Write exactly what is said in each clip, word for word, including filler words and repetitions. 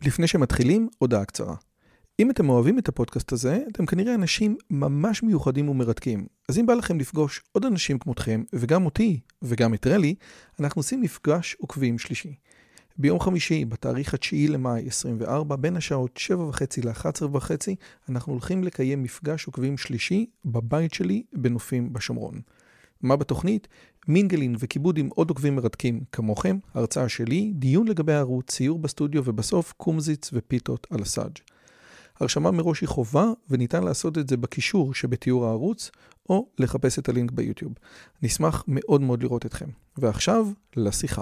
לפני שמתחילים, הודעה קצרה. אם אתם אוהבים את הפודקאסט הזה, אתם כנראה אנשים ממש מיוחדים ומרתקים. אז אם בא לכם לפגוש עוד אנשים כמותכם, וגם אותי, וגם את רלי, אנחנו עושים מפגש עוקבים שלישי. ביום חמישי, בתאריך התשיעי למאי עשרים וארבע, בין השעות שבע וחצי ל-אחת עשרה וחצי, אנחנו הולכים לקיים מפגש עוקבים שלישי בבית שלי בנופים בשומרון. מה בתוכנית? מינגלין וכיבוד עם עוד עוקבים מרתקים כמוכם, הרצאה שלי, דיון לגבי הערוץ, ציור בסטודיו ובסוף קומזיץ ופיתות על הסאג'. הרשמה מראש היא חובה וניתן לעשות את זה בקישור שבתיאור הערוץ או לחפש את הלינק ביוטיוב. נשמח מאוד מאוד לראות אתכם. ועכשיו לשיחה.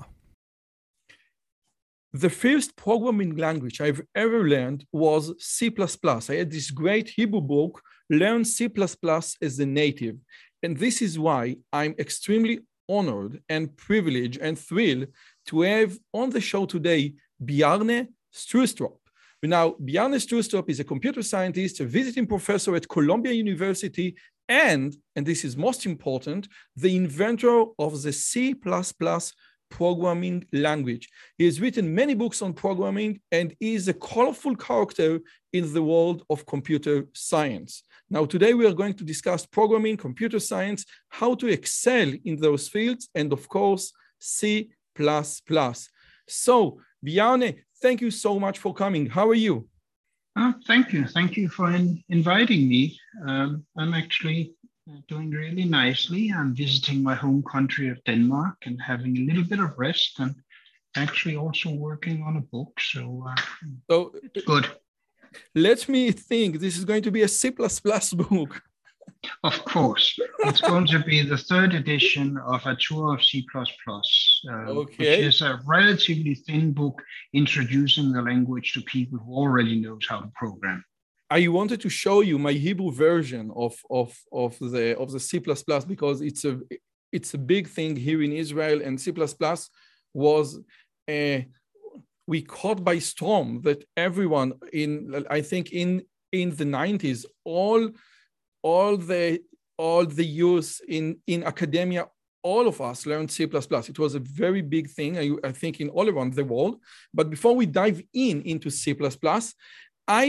The first programming language I've ever learned was C plus plus. I had this great Hebrew book, Learn C plus plus as a Native. And this is why I'm extremely honored and privileged and thrilled to have on the show today Bjarne Stroustrup. Now, Bjarne Stroustrup is a computer scientist, a visiting professor at Columbia University, and, and this is most important, the inventor of the C plus plus programming language. He has written many books on programming and is a colorful character in the world of computer science. Now, today we are going to discuss programming, computer science, how to excel in those fields, and of course, C plus plus. So, Bjarne, thank you so much for coming. How are you? Oh, thank you. Thank you for in, inviting me. Um, I'm actually doing really nicely. I'm visiting my home country of Denmark and having a little bit of rest and actually also working on a book. So, uh, so it's good. Let me think. This is going to be a C plus plus book. Of course. It's going to be the third edition of A Tour of C plus plus, uh, okay. which is a relatively thin book introducing the language to people who already knows how to program. I wanted to show you my Hebrew version of, of, of, the, of the C plus plus because it's a, it's a big thing here in Israel, and C plus plus was, uh, we caught by storm that everyone in, I think in, in the nineties, all, all the, all the youth in, in academia, all of us learned C plus plus. It was a very big thing, I, I think, in all around the world. But before we dive in into C plus plus, I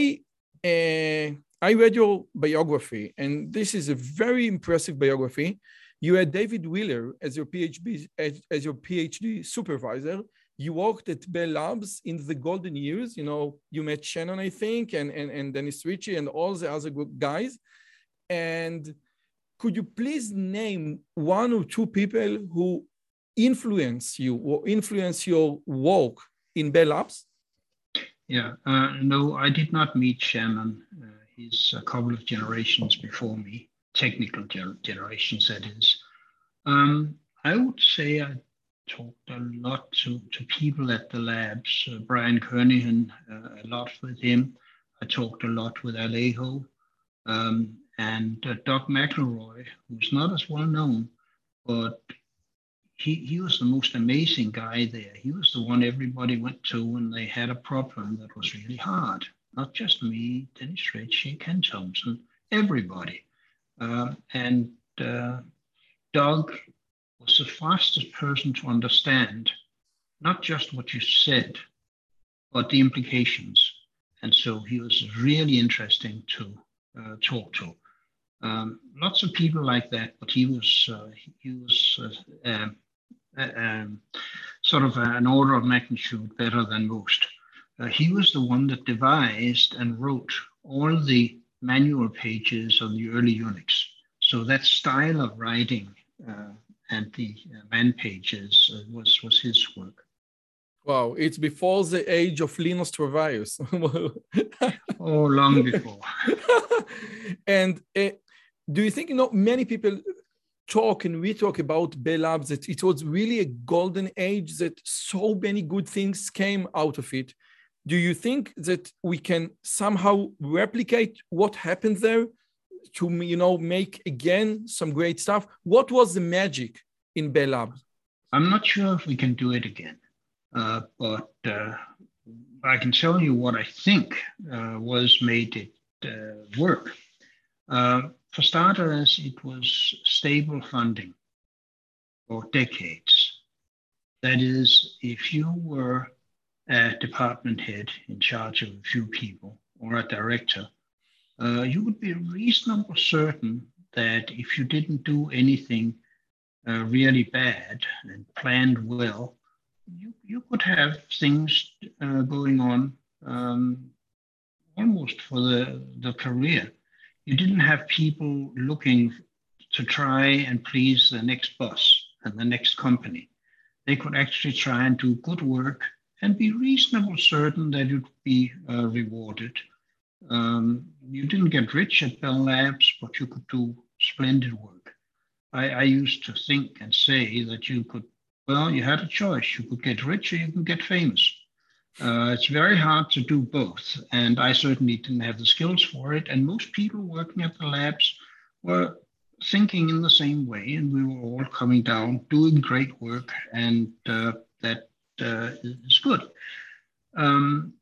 Uh, I read your biography, and this is a very impressive biography. You had David Wheeler as your PhD as, as your PhD supervisor. You worked at Bell Labs in the golden years. You know, you met Shannon, I think, and, and, and Dennis Ritchie and all the other good guys. And could you please name one or two people who influence you or influence your work in Bell Labs? Yeah, uh, no, I did not meet Shannon. Uh, he's a couple of generations before me, technical ger- generations, that is. Um, I would say I talked a lot to, to people at the labs. Uh, Brian Kernighan, uh, a lot with him. I talked a lot with Alejo. Um, and uh, Doug McElroy, who's not as well known, but He, he was the most amazing guy there. He was the one everybody went to when they had a problem that was really hard. Not just me, Dennis Ritchie, Ken Thompson, everybody. Uh, and uh, Doug was the fastest person to understand not just what you said, but the implications. And so he was really interesting to uh, talk to. Um, lots of people like that, but he was uh, he was uh, um, uh, um, sort of an order of magnitude better than most. Uh, he was the one that devised and wrote all the manual pages of the early Unix. So that style of writing uh, and the uh, man pages uh, was was his work. Wow, it's before the age of Linus Torvalds. Oh, long before. And uh, do you think, you know, many people talk and we talk about Bell Labs, that it was really a golden age, that so many good things came out of it. Do you think that we can somehow replicate what happened there to, you know, make again some great stuff? What was the magic in Bell Labs? I'm not sure if we can do it again, uh, but uh, I can tell you what I think uh, was made it uh, work. Uh, For starters, it was stable funding for decades. That is, if you were a department head in charge of a few people or a director, uh, you would be reasonably certain that if you didn't do anything uh, really bad and planned well, you, you could have things uh, going on um, almost for the, the career. You didn't have people looking to try and please the next boss and the next company. They could actually try and do good work and be reasonably certain that it would be uh, rewarded. Um, you didn't get rich at Bell Labs, but you could do splendid work. I, I used to think and say that you could, well, you had a choice. You could get rich or you can get famous. Uh, it's very hard to do both, and I certainly didn't have the skills for it. And most people working at the labs were thinking in the same way, and we were all coming down, doing great work, and uh, that uh, is good. Um,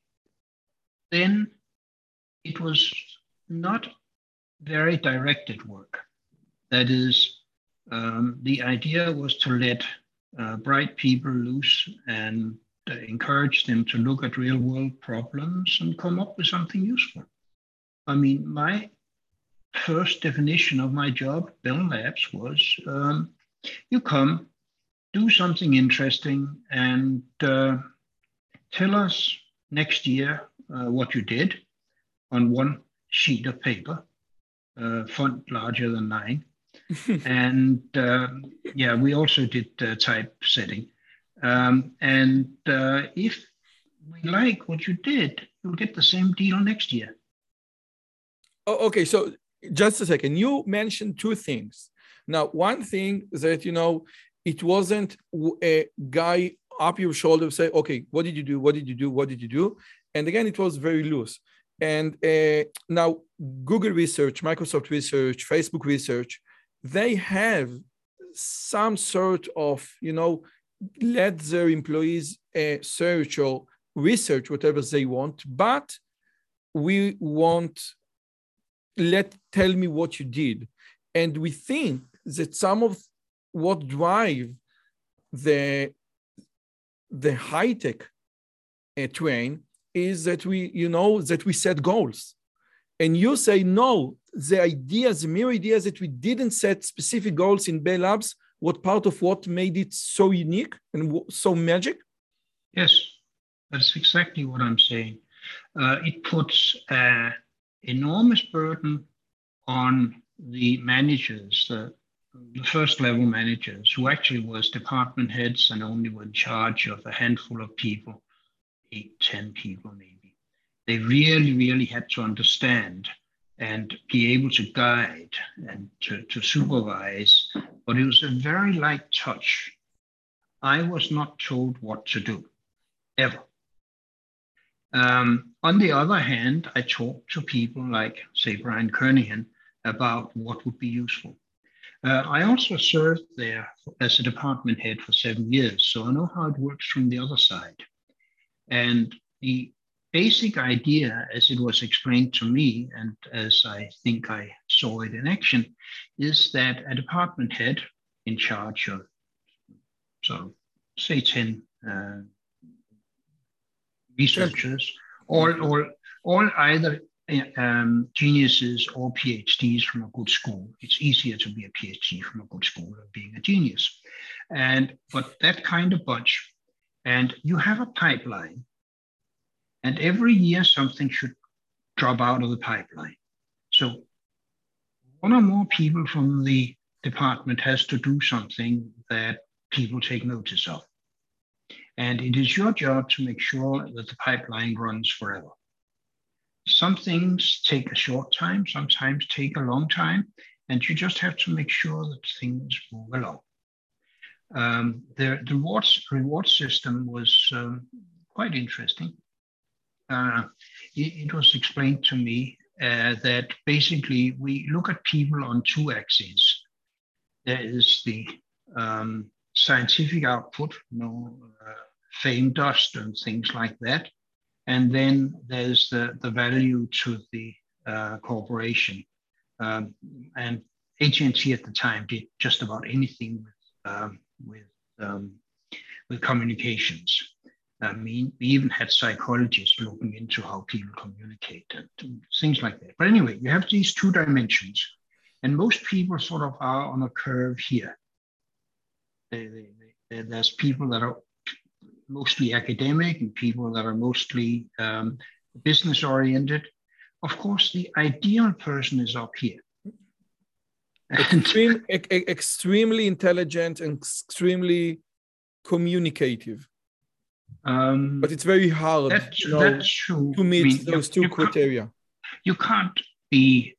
then it was not very directed work. That is, um, the idea was to let uh, bright people loose and uh, encourage them to look at real world problems and come up with something useful. I mean, my first definition of my job, Bell Labs, was um, you come, do something interesting, and uh, tell us next year uh, what you did on one sheet of paper, uh, font larger than nine. and uh, yeah, we also did uh, typesetting. Um, and uh, if we like what you did, you'll get the same deal next year. Oh, okay, so just a second. You mentioned two things. Now, one thing that, you know, it wasn't a guy up your shoulder say, okay, what did you do? What did you do? What did you do? And again, it was very loose. And uh, now Google research, Microsoft research, Facebook research, they have some sort of, you know, let their employees uh, search or research whatever they want, but we want, let tell me what you did. And we think that some of what drive the, the high-tech uh, train is that we, you know, that we set goals. And you say, no, the ideas, the mere ideas that we didn't set specific goals in Bell Labs, what part of what made it so unique and so magic? Yes, that's exactly what I'm saying. Uh, it puts an enormous burden on the managers, the, the first level managers, who actually was department heads and only were in charge of a handful of people, eight, ten people maybe. They really, really had to understand and be able to guide and to, to supervise, but it was a very light touch. I was not told what to do, ever. Um, on the other hand, I talked to people like, say, Brian Kernighan about what would be useful. Uh, I also served there as a department head for seven years, so I know how it works from the other side. And the basic idea, as it was explained to me, and as I think I saw it in action, is that a department head in charge of, so say ten uh, researchers, all, all, all either um, geniuses or PhDs from a good school. It's easier to be a PhD from a good school than being a genius. And, but that kind of bunch, and you have a pipeline, and every year something should drop out of the pipeline. So one or more people from the department has to do something that people take notice of. And it is your job to make sure that the pipeline runs forever. Some things take a short time, sometimes take a long time, and you just have to make sure that things move along. Um, the, the rewards, reward system was um, quite interesting. Uh, it, it was explained to me uh, that basically we look at people on two axes. There is the um, scientific output, you know, uh, fame, dust, and things like that. And then there's the, the value to the uh, corporation. Um, and A T and T at the time did just about anything with, um, with, um, with communications. I mean, we even had psychologists looking into how people communicate and things like that. But anyway, you have these two dimensions, and most people sort of are on a curve here. They, they, they, there's people that are mostly academic and people that are mostly um, business oriented. Of course, the ideal person is up here. Extreme, e- extremely intelligent and extremely communicative. Um, but it's very hard that's, you know, that's true. to meet I mean, those you, two you criteria. Can't, you can't be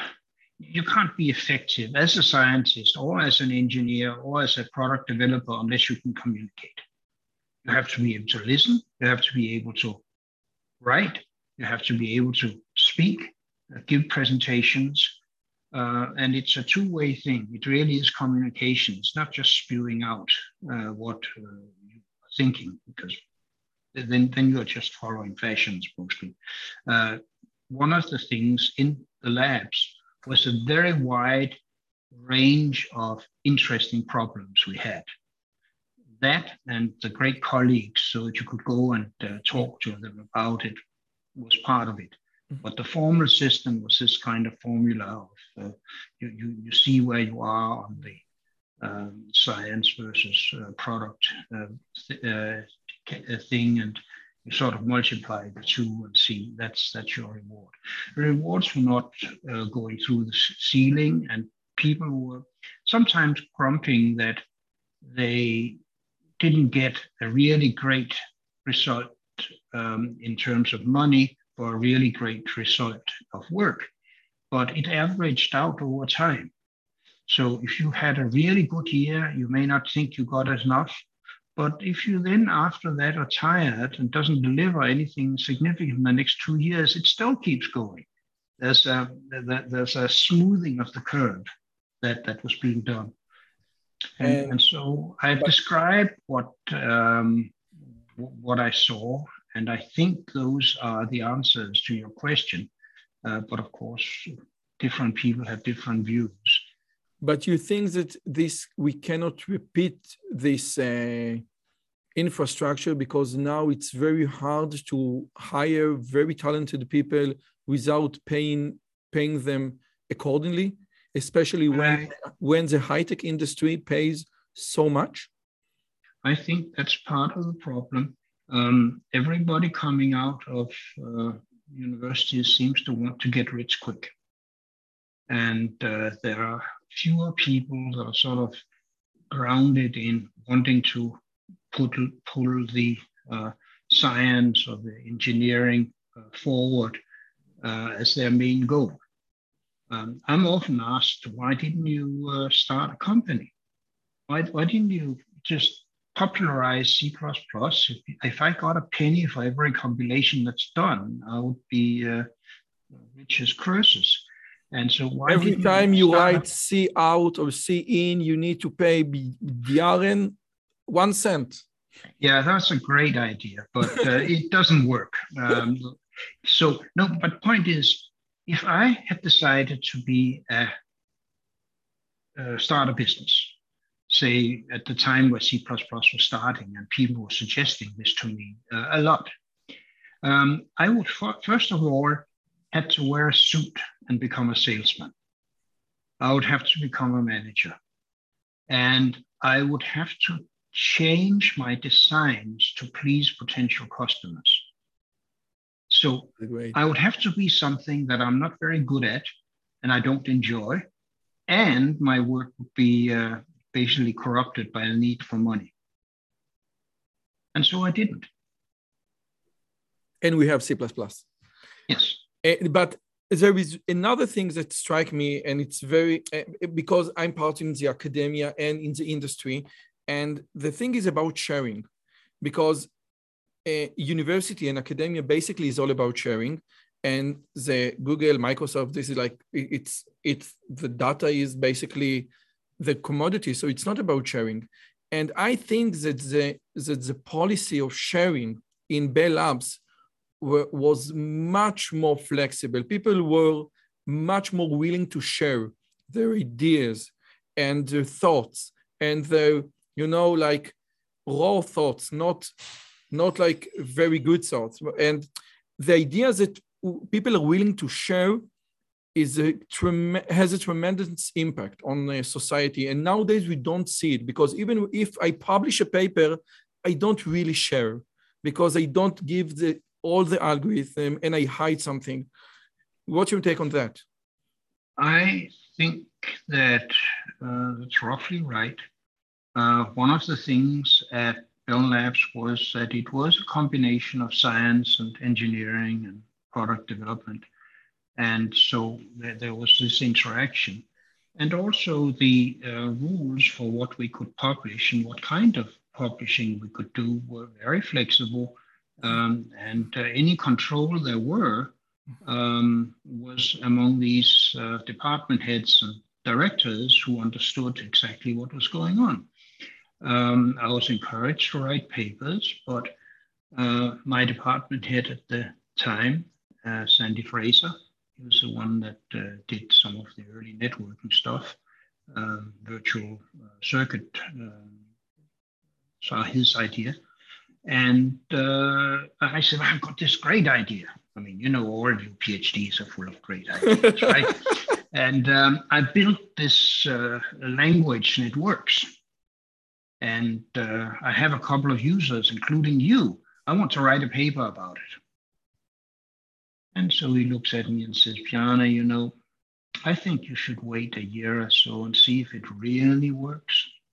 you can't be effective as a scientist or as an engineer or as a product developer unless you can communicate. You have to be able to listen. You have to be able to write. You have to be able to speak, uh, give presentations. Uh, and it's a two-way thing. It really is communication. It's not just spewing out uh, what uh, you're thinking, because then, then you're just following fashions mostly. Uh, one of the things in the labs was a very wide range of interesting problems we had. That and the great colleagues, so that you could go and uh, talk to them about it, was part of it. But the formal system was this kind of formula of uh, you, you, you see where you are on the um, science versus uh, product uh, th- uh, thing, and you sort of multiply the two and see that's that's your reward. The rewards were not uh, going through the ceiling, and people were sometimes grumping that they didn't get a really great result um, in terms of money for a really great result of work, but it averaged out over time. So if you had a really good year, you may not think you got enough, but if you then after that are tired and doesn't deliver anything significant in the next two years, it still keeps going. There's a, there's a smoothing of the curve that, that was being done. And, and, and so I described what um, what I saw, and I think those are the answers to your question. Uh, but of course, different people have different views. But you think that this we cannot repeat this uh, infrastructure because now it's very hard to hire very talented people without paying paying them accordingly, especially when I, when the high-tech industry pays so much? I think that's part of the problem. Um, everybody coming out of uh, universities seems to want to get rich quick. And uh, there are fewer people that are sort of grounded in wanting to put, pull the uh, science or the engineering uh, forward uh, as their main goal. Um, I'm often asked, why didn't you uh, start a company? Why, why didn't you just popularize C plus plus? If, if I got a penny for every compilation that's done, I would be uh, rich as Croesus. And so why every time you, you write a... C out or C in, you need to pay Bjaren one cent. Yeah, that's a great idea, but uh, it doesn't work. Um, so no, but point is, if I had decided to be a, a start a business, say at the time where C plus plus was starting and people were suggesting this to me uh, a lot, um, I would f- first of all had to wear a suit and become a salesman. I would have to become a manager. And I would have to change my designs to please potential customers. So Great. I would have to be something that I'm not very good at and I don't enjoy. And my work would be uh, basically corrupted by a need for money. And so I didn't. And we have C plus plus. Yes. Uh, but there is another thing that strikes me, and it's very, uh, because I'm part in the academia and in the industry, and the thing is about sharing, because uh, university and academia basically is all about sharing, and the Google, Microsoft, this is like, it's, it's, the data is basically the commodity, so it's not about sharing. And I think that the, that the policy of sharing in Bell Labs were, was much more flexible. People were much more willing to share their ideas and their thoughts and their, you know, like raw thoughts, not not like very good thoughts. And the idea that people are willing to share is a trem- has a tremendous impact on uh, society. And nowadays we don't see it, because even if I publish a paper, I don't really share, because I don't give the all the algorithm and I hide something. What's your take on that? I think that uh, that's roughly right. Uh, one of the things at Bell Labs was that it was a combination of science and engineering and product development. And so there, there was this interaction. And also the uh, rules for what we could publish and what kind of publishing we could do were very flexible. Um, and uh, any control there were um, was among these uh, department heads and directors who understood exactly what was going on. Um, I was encouraged to write papers, but uh, my department head at the time, uh, Sandy Fraser, he was the one that uh, did some of the early networking stuff, um, virtual uh, circuit, um, saw his idea. And uh, I said, I've got this great idea. I mean, you know, all of you PhDs are full of great ideas, right? And um, I built this uh, language and it works. And uh, I have a couple of users, including you. I want to write a paper about it. And so he looks at me and says, Bjarne, you know, I think you should wait a year or so and see if it really works.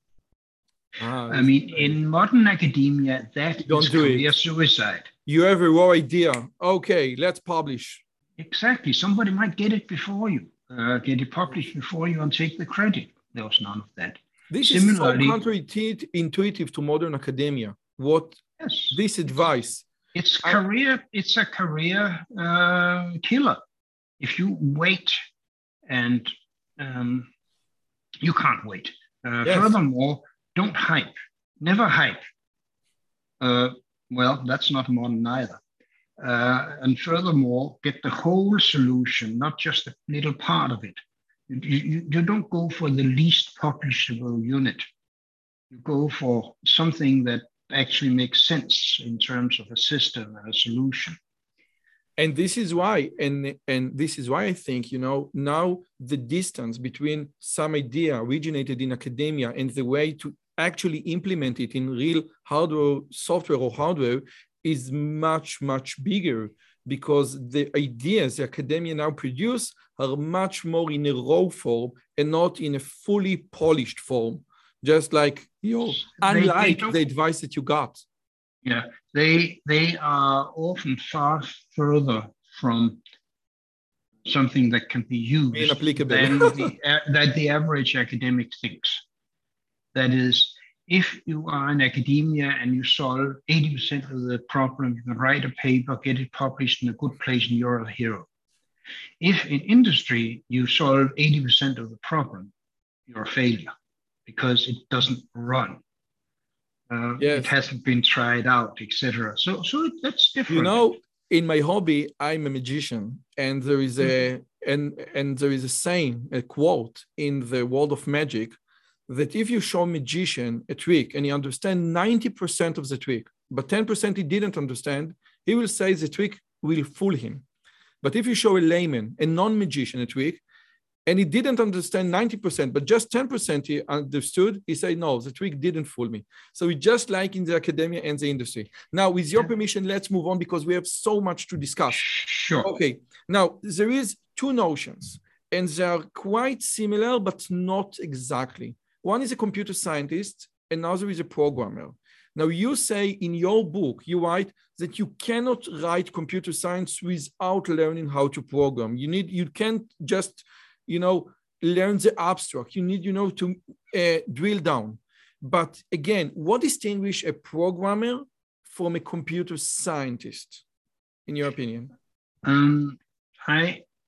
Ah, I mean, in modern academia, that Don't is do career it. suicide. You have a raw idea. Okay, let's publish. Exactly. Somebody might get it before you, uh, get it published before you and take the credit. There was none of that. This Similarly, is so counterintuitive to modern academia. What yes. this advice? It's career. I, it's a career uh, killer. If you wait, and um, you can't wait. Uh, yes. Furthermore, don't hype. Never hype. Uh, well, that's not modern either. Uh, and furthermore, get the whole solution, not just a little part of it. You, you, you don't go for the least publishable unit. You go for something that actually makes sense in terms of a system and a solution. And this is why, and, and this is why I think, you know, now the distance between some idea originated in academia and the way to actually implement it in real hardware, software or hardware is much, much bigger, because the ideas the academia now produce are much more in a raw form and not in a fully polished form, just like, you know, unlike they, they the advice that you got. Yeah, they they are often far further from something that can be used than the, that the average academic thinks. That is, if you are in academia and you solve eighty percent of the problem, you can write a paper, get it published in a good place, and you're a hero. If in industry you solve eighty percent of the problem, you're a failure, because it doesn't run. Uh, yes. It hasn't been tried out, et cetera. So, so that's different. You know, in my hobby, I'm a magician, and there is a mm-hmm. and and there is a saying, a quote in the world of magic, that if you show a magician a trick and he understands ninety percent of the trick, but ten percent he didn't understand, he will say the trick will fool him. But if you show a layman, a non-magician, a trick, and he didn't understand ninety percent, but just ten percent he understood, he said, no, the trick didn't fool me. So it's just like in the academia and the industry. Now, with your permission, let's move on, because we have so much to discuss. Sure. Okay. Now, there is two notions, and they are quite similar, but not exactly. One is a computer scientist, another is a programmer. Now, you say in your book, you write that you cannot write computer science without learning how to program. You need, you can't just, you know, learn the abstract. You need, you know, to uh, drill down. But again, what distinguishes a programmer from a computer scientist, in your opinion? Um, I,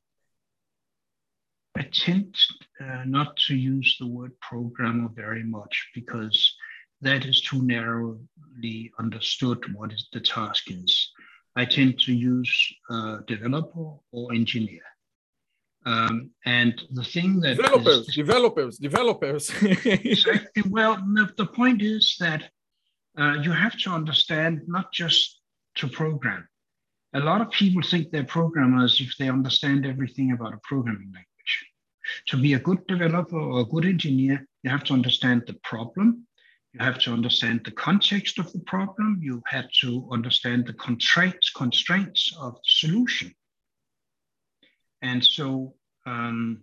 I tend uh, not to use the word programmer very much, because that is too narrowly understood what is the task is. I tend to use uh, developer or engineer. Um, and the thing that developers, is, developers, developers. Exactly. Well, the, the point is that uh, you have to understand not just to program. A lot of people think they're programmers if they understand everything about a programming language. To be a good developer or a good engineer, you have to understand the problem. You have to understand the context of the problem. You have to understand the constraints, constraints of the solution. And so um,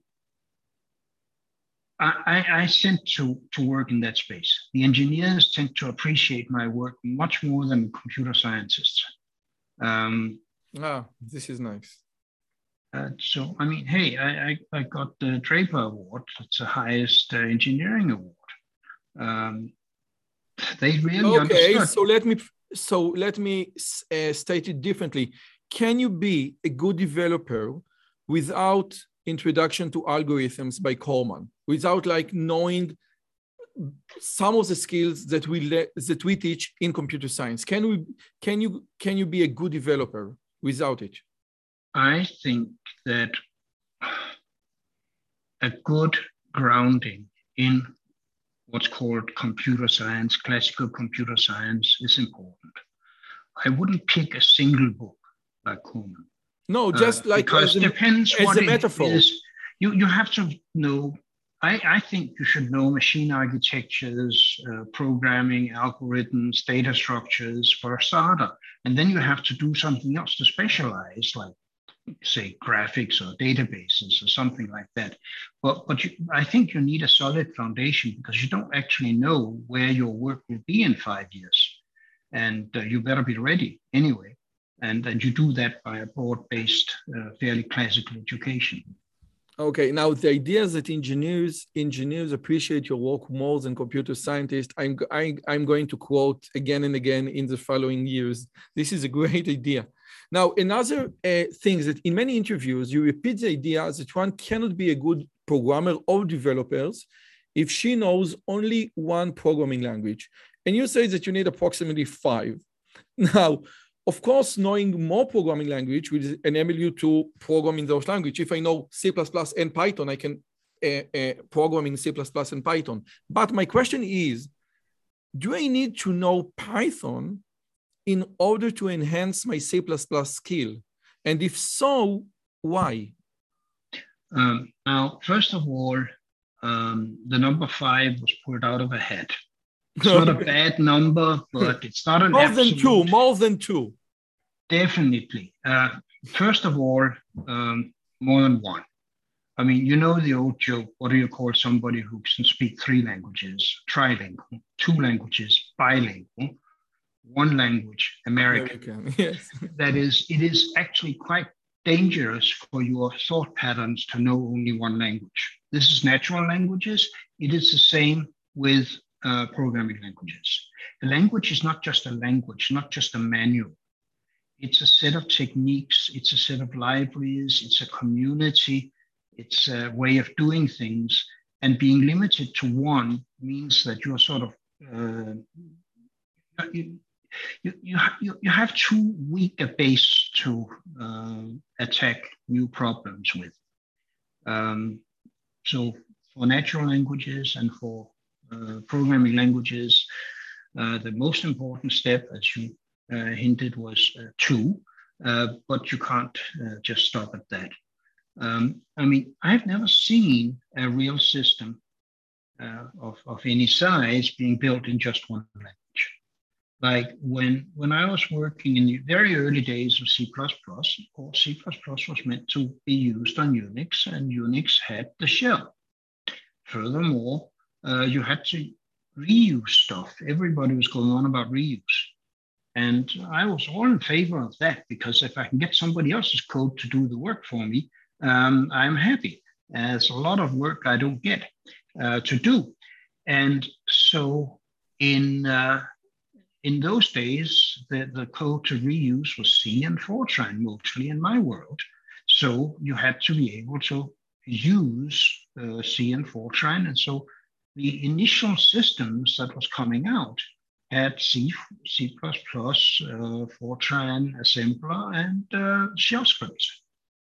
I, I tend to, to work in that space. The engineers tend to appreciate my work much more than computer scientists. Um, ah, this is nice. Uh, so, I mean, hey, I, I, I got the Draper Award. It's the highest uh, engineering award. Um, they really okay, understood. so let me so let me uh, state it differently. Can you be a good developer without introduction to algorithms by Corman, without like knowing some of the skills that we le- that we teach in computer science? Can we can you can you be a good developer without it? I think that a good grounding in what's called computer science, classical computer science, is important. I wouldn't pick a single book like Corman. No, just uh, like because as it depends as what a it metaphor. is. You you have to know. I, I think you should know machine architectures, uh, programming, algorithms, data structures for a starter, and then you have to do something else to specialize, like say graphics or databases or something like that. But but you, I think you need a solid foundation because you don't actually know where your work will be in five years, and uh, you better be ready anyway. And and you do that by a broad-based, uh, fairly classical education. Okay, now the idea is that engineers engineers appreciate your work more than computer scientists. I'm I, I'm going to quote again and again in the following years. This is a great idea. Now, another uh, thing is that in many interviews, you repeat the idea that one cannot be a good programmer or developers if she knows only one programming language. And you say that you need approximately five. Now, of course, knowing more programming language will enable you to program in those languages. If I know C plus plus and Python, I can uh, uh, program in C plus plus and Python. But my question is, do I need to know Python in order to enhance my C plus plus skill? And if so, why? Um, now, first of all, um, the number five was pulled out of a hat. It's not a bad number, but it's not an more absolute. than two, more than two. Definitely. Uh, first of all, um, more than one. I mean, you know the old joke, what do you call somebody who can speak three languages? Trilingual, two languages, bilingual, one language, American. American, yes. That is, it is actually quite dangerous for your thought patterns to know only one language. This is natural languages. It is the same with uh, programming languages. A language is not just a language, not just a manual. It's a set of techniques. It's a set of libraries. It's a community. It's a way of doing things. And being limited to one means that you're sort of, uh, you, you, you, you, you have too weak a base to uh, attack new problems with. Um, so for natural languages and for uh, programming languages, uh, the most important step, as you uh, hinted, was uh, two, uh, but you can't uh, just stop at that. Um, I mean, I've never seen a real system uh, of, of any size being built in just one language. Like when, when I was working in the very early days of C plus plus, or C plus plus was meant to be used on Unix, and Unix had the shell. Furthermore, uh, you had to reuse stuff. Everybody was going on about reuse. And I was all in favor of that, because if I can get somebody else's code to do the work for me, um, I'm happy. There's a lot of work I don't get uh, to do. And so in uh, in those days, the, the code to reuse was C and Fortran, mostly in my world. So you had to be able to use uh, C and Fortran. And so the initial systems that was coming out had C, C++, uh, Fortran, assembler, and uh, shell scripts.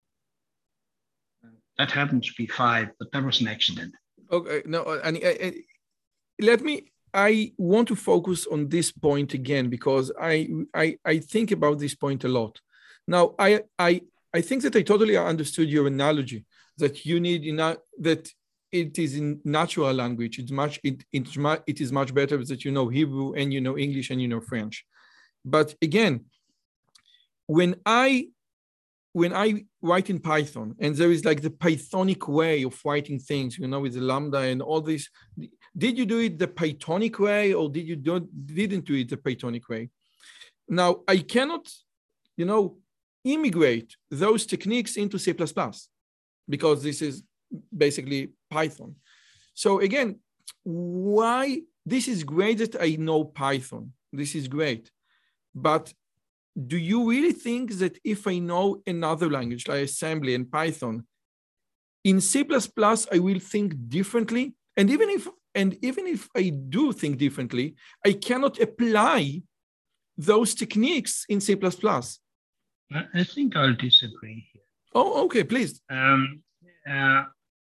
That happened to be five, but that was an accident. Okay, no, and uh, uh, let me I want to focus on this point again because I, I, I think about this point a lot. Now, I, I, I think that I totally understood your analogy that you need, you know, that it is in natural language. It's much, it, it's much, it is much better that you know Hebrew and you know English and you know French. But again, when I, when I write in Python and there is like the Pythonic way of writing things, you know, with the Lambda and all this, did you do it the Pythonic way or did you don't, didn't do it the Pythonic way? Now, I cannot, you know, immigrate those techniques into C plus plus because this is basically Python. So again, why, this is great that I know Python. This is great. But do you really think that if I know another language like assembly and Python, in C plus plus, I will think differently? And even if, and even if I do think differently, I cannot apply those techniques in C plus plus. I think I'll disagree here. Oh, okay, please. Um, uh,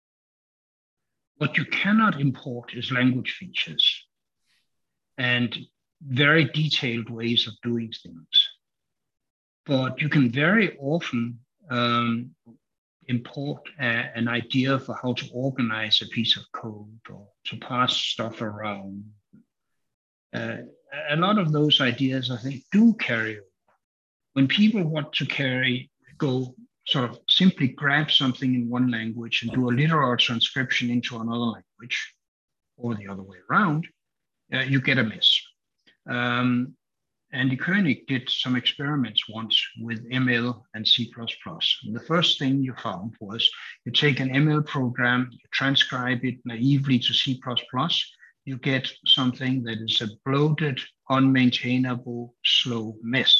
what you cannot import is language features and very detailed ways of doing things. But you can very often um, import a, an idea for how to organize a piece of code or to pass stuff around. Uh, a lot of those ideas, I think, do carry over. When people want to carry, go sort of simply grab something in one language and do a literal transcription into another language, or the other way around, uh, you get a mess. Um, Andy Koenig did some experiments once with M L and C plus plus. And the first thing you found was you take an M L program, you transcribe it naively to C plus plus, you get something that is a bloated, unmaintainable, slow mess.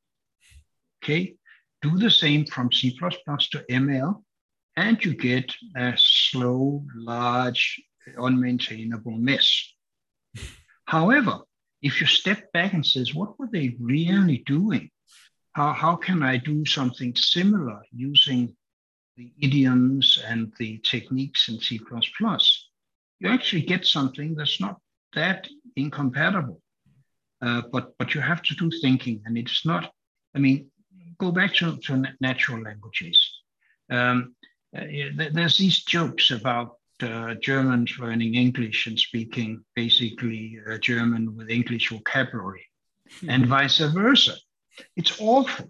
Okay, do the same from C plus plus to M L, and you get a slow, large, unmaintainable mess. However, if you step back and says, what were they really doing? How, how can I do something similar using the idioms and the techniques in C plus plus? You actually get something that's not that incompatible, uh, but, but you have to do thinking, and it's not, I mean, go back to, to natural languages. Um, uh, there's these jokes about uh, Germans learning English and speaking basically uh, German with English vocabulary, mm-hmm. and vice versa. It's awful.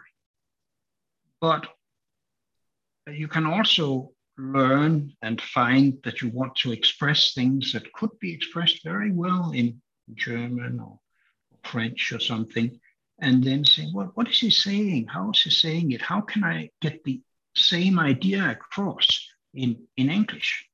But you can also learn and find that you want to express things that could be expressed very well in German or French or something, and then say, well, what is he saying? How is he saying it? How can I get the same idea across in, in English?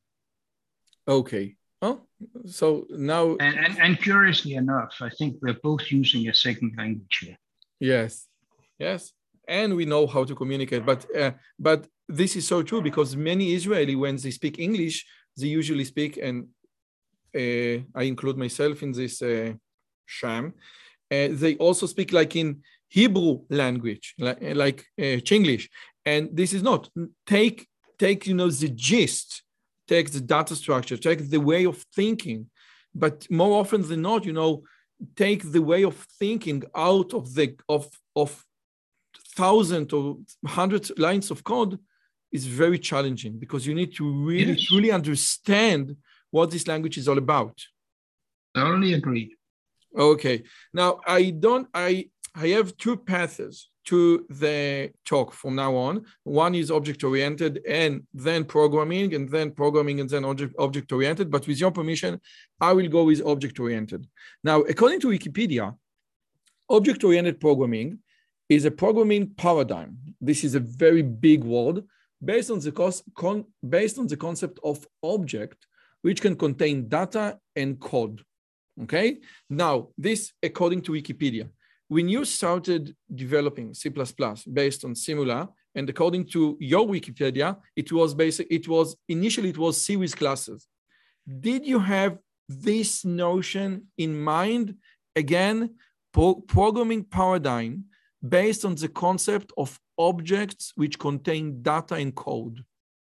Okay. Oh, so now... And, and, and curiously enough, I think we're both using a second language here. Yes, yes. And we know how to communicate. But, uh, but this is so true because many Israeli, when they speak English, they usually speak, and uh, I include myself in this uh, sham, Uh, they also speak like in Hebrew language, like, like uh, Chinglish. And this is not, take, take, you know, the gist, take the data structure, take the way of thinking. But more often than not, you know, take the way of thinking out of the, of, of thousands or hundreds lines of code is very challenging because you need to really, yes. truly understand what this language is all about. Totally agree. Okay. Now I don't, I, I have two paths to the talk from now on. One is object-oriented and then programming and then programming and then object, object-oriented. But with your permission, I will go with object-oriented. Now, according to Wikipedia, object-oriented programming is a programming paradigm. This is a very big word based on the, cost, con, based on the concept of object, which can contain data and code. Okay, now this according to Wikipedia. When you started developing C plus plus based on Simula, and according to your Wikipedia, it was basic, it was initially it was C with classes. Did you have this notion in mind? Again, pro- programming paradigm based on the concept of objects which contain data and code.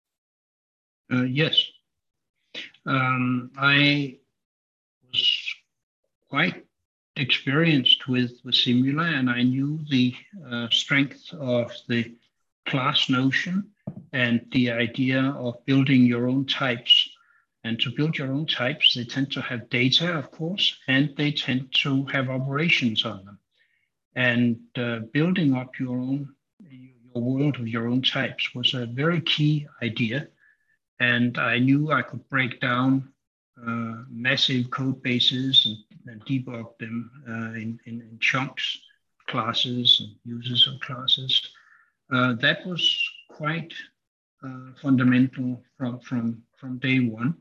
Uh, yes, um, I was quite experienced with, with Simula, and I knew the uh, strength of the class notion and the idea of building your own types. And to build your own types, they tend to have data, of course, and they tend to have operations on them. And uh, building up your own your world of your own types was a very key idea. And I knew I could break down uh, massive code bases and, and debug them uh, in, in, in chunks, classes and users of classes. Uh, that was quite uh, fundamental from, from, from day one.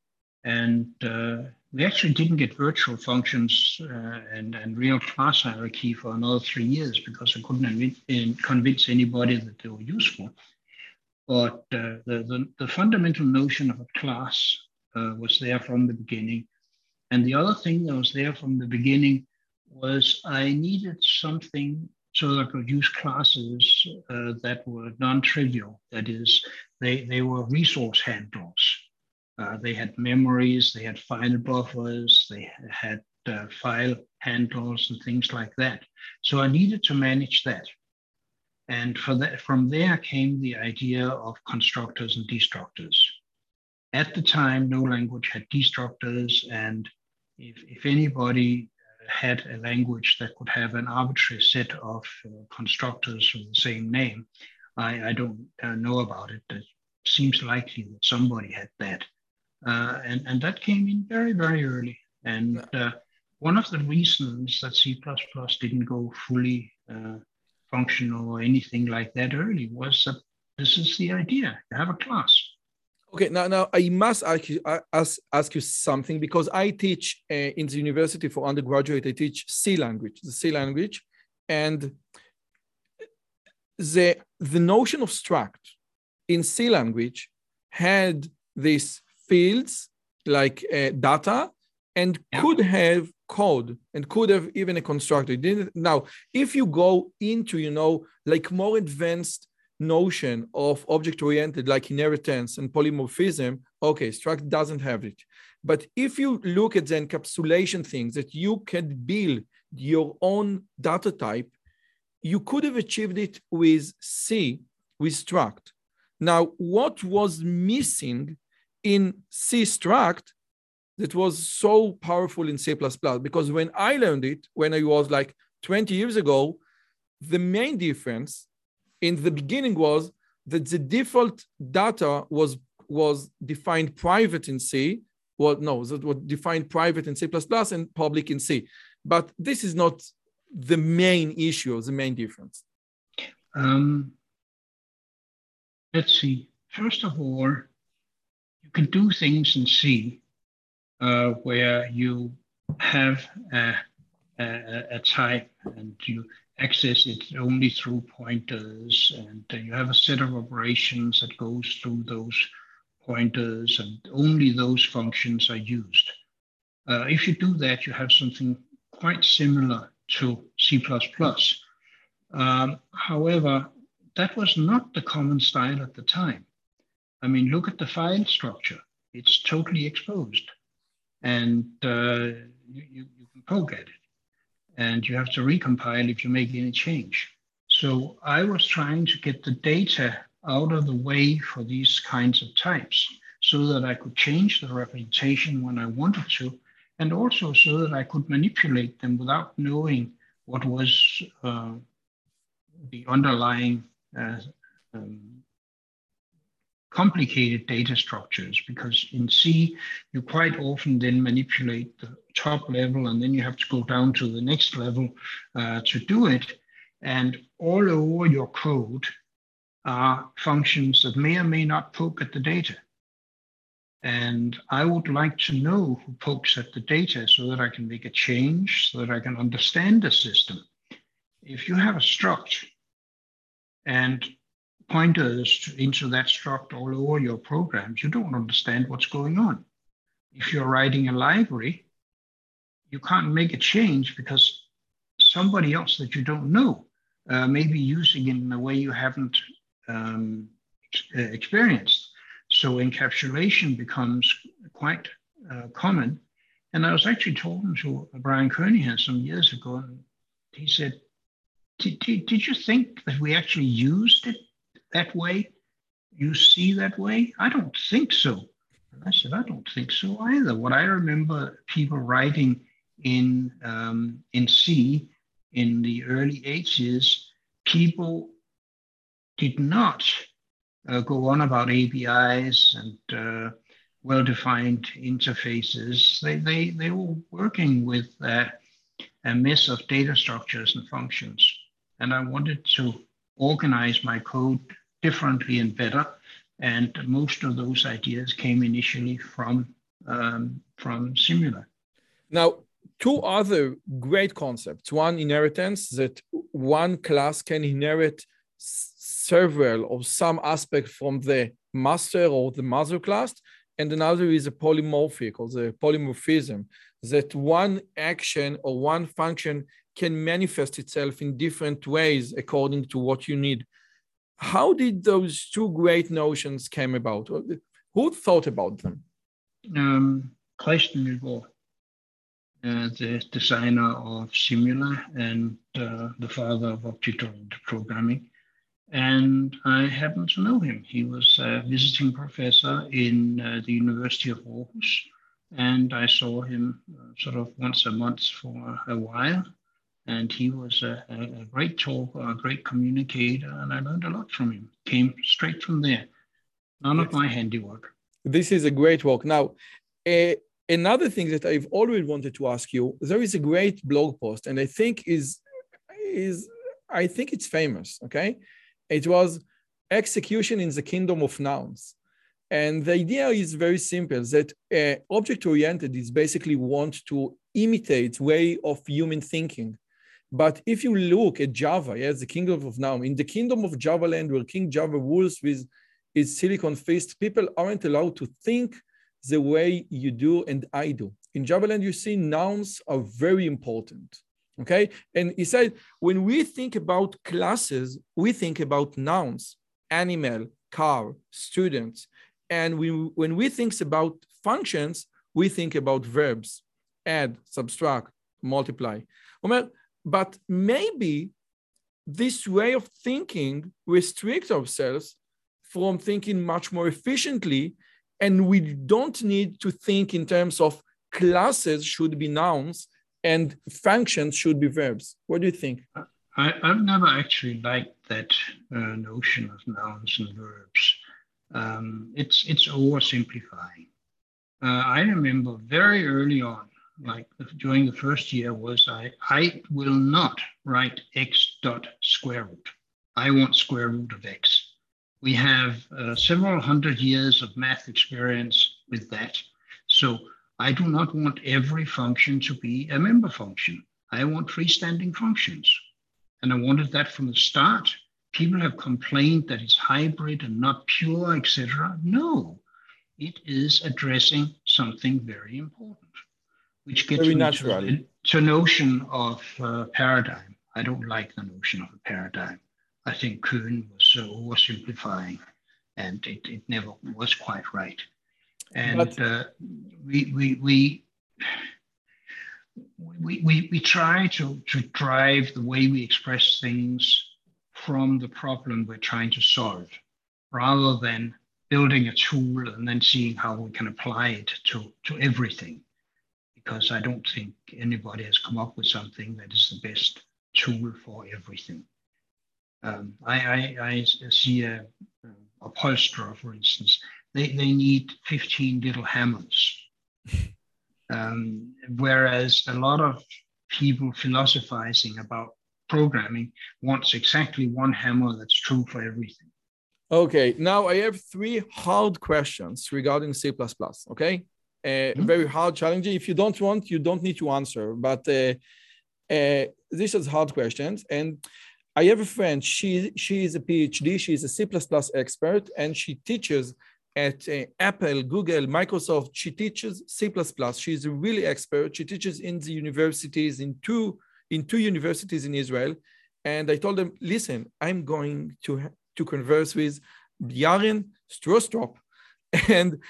And uh, we actually didn't get virtual functions uh, and, and real class hierarchy for another three years because I couldn't inv- convince anybody that they were useful. But uh, the, the, the fundamental notion of a class uh, was there from the beginning. And the other thing that was there from the beginning was I needed something so that I could use classes uh, that were non-trivial. That is, they, they were resource handlers. Uh, they had memories, they had file buffers, they had uh, file handlers and things like that. So I needed to manage that. And for that, from there came the idea of constructors and destructors. At the time, no language had destructors, and if, if anybody had a language that could have an arbitrary set of uh, constructors with the same name, I, I don't uh, know about it. It seems likely that somebody had that. Uh, and, and that came in very, very early. And uh, one of the reasons that C plus plus didn't go fully uh, functional or anything like that early was that this is the idea. You have a class. Okay, now, now I must ask you, ask, ask you something because I teach uh, in the university for undergraduate, I teach C language, the C language. And the, the notion of struct in C language had this fields like uh, data and yeah. could have code and could have even a constructor. It didn't, now, if you go into, you know, like more advanced notion of object-oriented like inheritance and polymorphism, okay, struct doesn't have it. But if you look at the encapsulation things that you can build your own data type, you could have achieved it with C, with struct. Now, what was missing in C struct that was so powerful in C plus plus? Because when I learned it, when I was like twenty years ago, the main difference in the beginning was that the default data was, was defined private in C. Well, no, that was defined private in C plus plus and public in C. But this is not the main issue, the main difference. Um, let's see. First of all, you can do things in C uh, where you have a, a, a type and you access it only through pointers, and uh, you have a set of operations that goes through those pointers, and only those functions are used. Uh, if you do that, you have something quite similar to C plus plus. Um, however, that was not the common style at the time. I mean, look at the file structure. It's totally exposed. And uh, you, you, you can poke at it. And you have to recompile if you make any change. So I was trying to get the data out of the way for these kinds of types so that I could change the representation when I wanted to, and also so that I could manipulate them without knowing what was uh, the underlying uh, um, complicated data structures, because in C, you quite often then manipulate the top level and then you have to go down to the next level uh, to do it. And all over your code are functions that may or may not poke at the data. And I would like to know who pokes at the data so that I can make a change, so that I can understand the system. If you have a struct and pointers into that struct all over your programs, you don't understand what's going on. If you're writing a library, you can't make a change because somebody else that you don't know uh, may be using it in a way you haven't um, experienced. So encapsulation becomes quite uh, common. And I was actually talking to Brian Kernighan some years ago, and he said, did, did, did you think that we actually used it that way? You see that way? I don't think so. And I said, I don't think so either. What I remember people writing in um, in C in the early eighties, people did not uh, go on about A P Is and uh, well-defined interfaces. They, they, they were working with uh, a mess of data structures and functions. And I wanted to organize my code differently and better. And most of those ideas came initially from, um, from Simula. Now, two other great concepts. One, inheritance, that one class can inherit several or some aspect from the master or the mother class. And another is a polymorphic or the polymorphism, that one action or one function can manifest itself in different ways according to what you need. How did those two great notions came about? Who thought about them? Um, Clayton Milbaugh, uh, the designer of Simula and uh, the father of object-oriented programming. And I happen to know him. He was a visiting professor in uh, the University of Aarhus. And I saw him uh, sort of once a month for a while. And he was a, a great talker, a great communicator, and I learned a lot from him. Came straight from there. None yes. of my handiwork. This is a great work. Now, uh, another thing that I've always wanted to ask you, there is a great blog post, and I think is, is I think it's famous, okay? It was execution in the kingdom of nouns. And the idea is very simple, that uh, object-oriented is basically want to imitate way of human thinking. But if you look at Java, yes, the kingdom of noun, in the kingdom of Java land where King Java rules with his silicon fist, people aren't allowed to think the way you do and I do. In Java land, you see nouns are very important, okay? And he said, when we think about classes, we think about nouns, animal, car, students. And we, when we think about functions, we think about verbs, add, subtract, multiply. But maybe this way of thinking restricts ourselves from thinking much more efficiently, and we don't need to think in terms of classes should be nouns and functions should be verbs. What do you think? I, I've never actually liked that uh, notion of nouns and verbs. Um, it's, it's oversimplifying. Uh, I remember very early on, like during the first year was I, I will not write x dot square root. I want square root of x. We have uh, several hundred years of math experience with that. So I do not want every function to be a member function. I want freestanding functions. And I wanted that from the start. People have complained that it's hybrid and not pure, et cetera. No, it is addressing something very important. Which gets very me natural. to, to notion of uh, paradigm. I don't like the notion of a paradigm. I think Kuhn was so oversimplifying, and it, it never was quite right. And but, uh, we, we, we, we, we, we try to, to drive the way we express things from the problem we're trying to solve, rather than building a tool and then seeing how we can apply it to, to everything. Because I don't think anybody has come up with something that is the best tool for everything. Um, I, I, I see a, a upholsterer, for instance, they, they need fifteen little hammers. Um, whereas a lot of people philosophizing about programming wants exactly one hammer that's true for everything. Okay, now I have three hard questions regarding C plus plus, okay? Uh, mm-hmm. Very hard, challenging. If you don't want, you don't need to answer. But uh, uh, these are hard questions. And I have a friend. She she is a PhD. She is a C plus plus expert, and she teaches at uh, Apple, Google, Microsoft. She teaches C plus plus. She's a really expert. She teaches in the universities in two in two universities in Israel. And I told them, listen, I'm going to to converse with Yaren Strostrup, and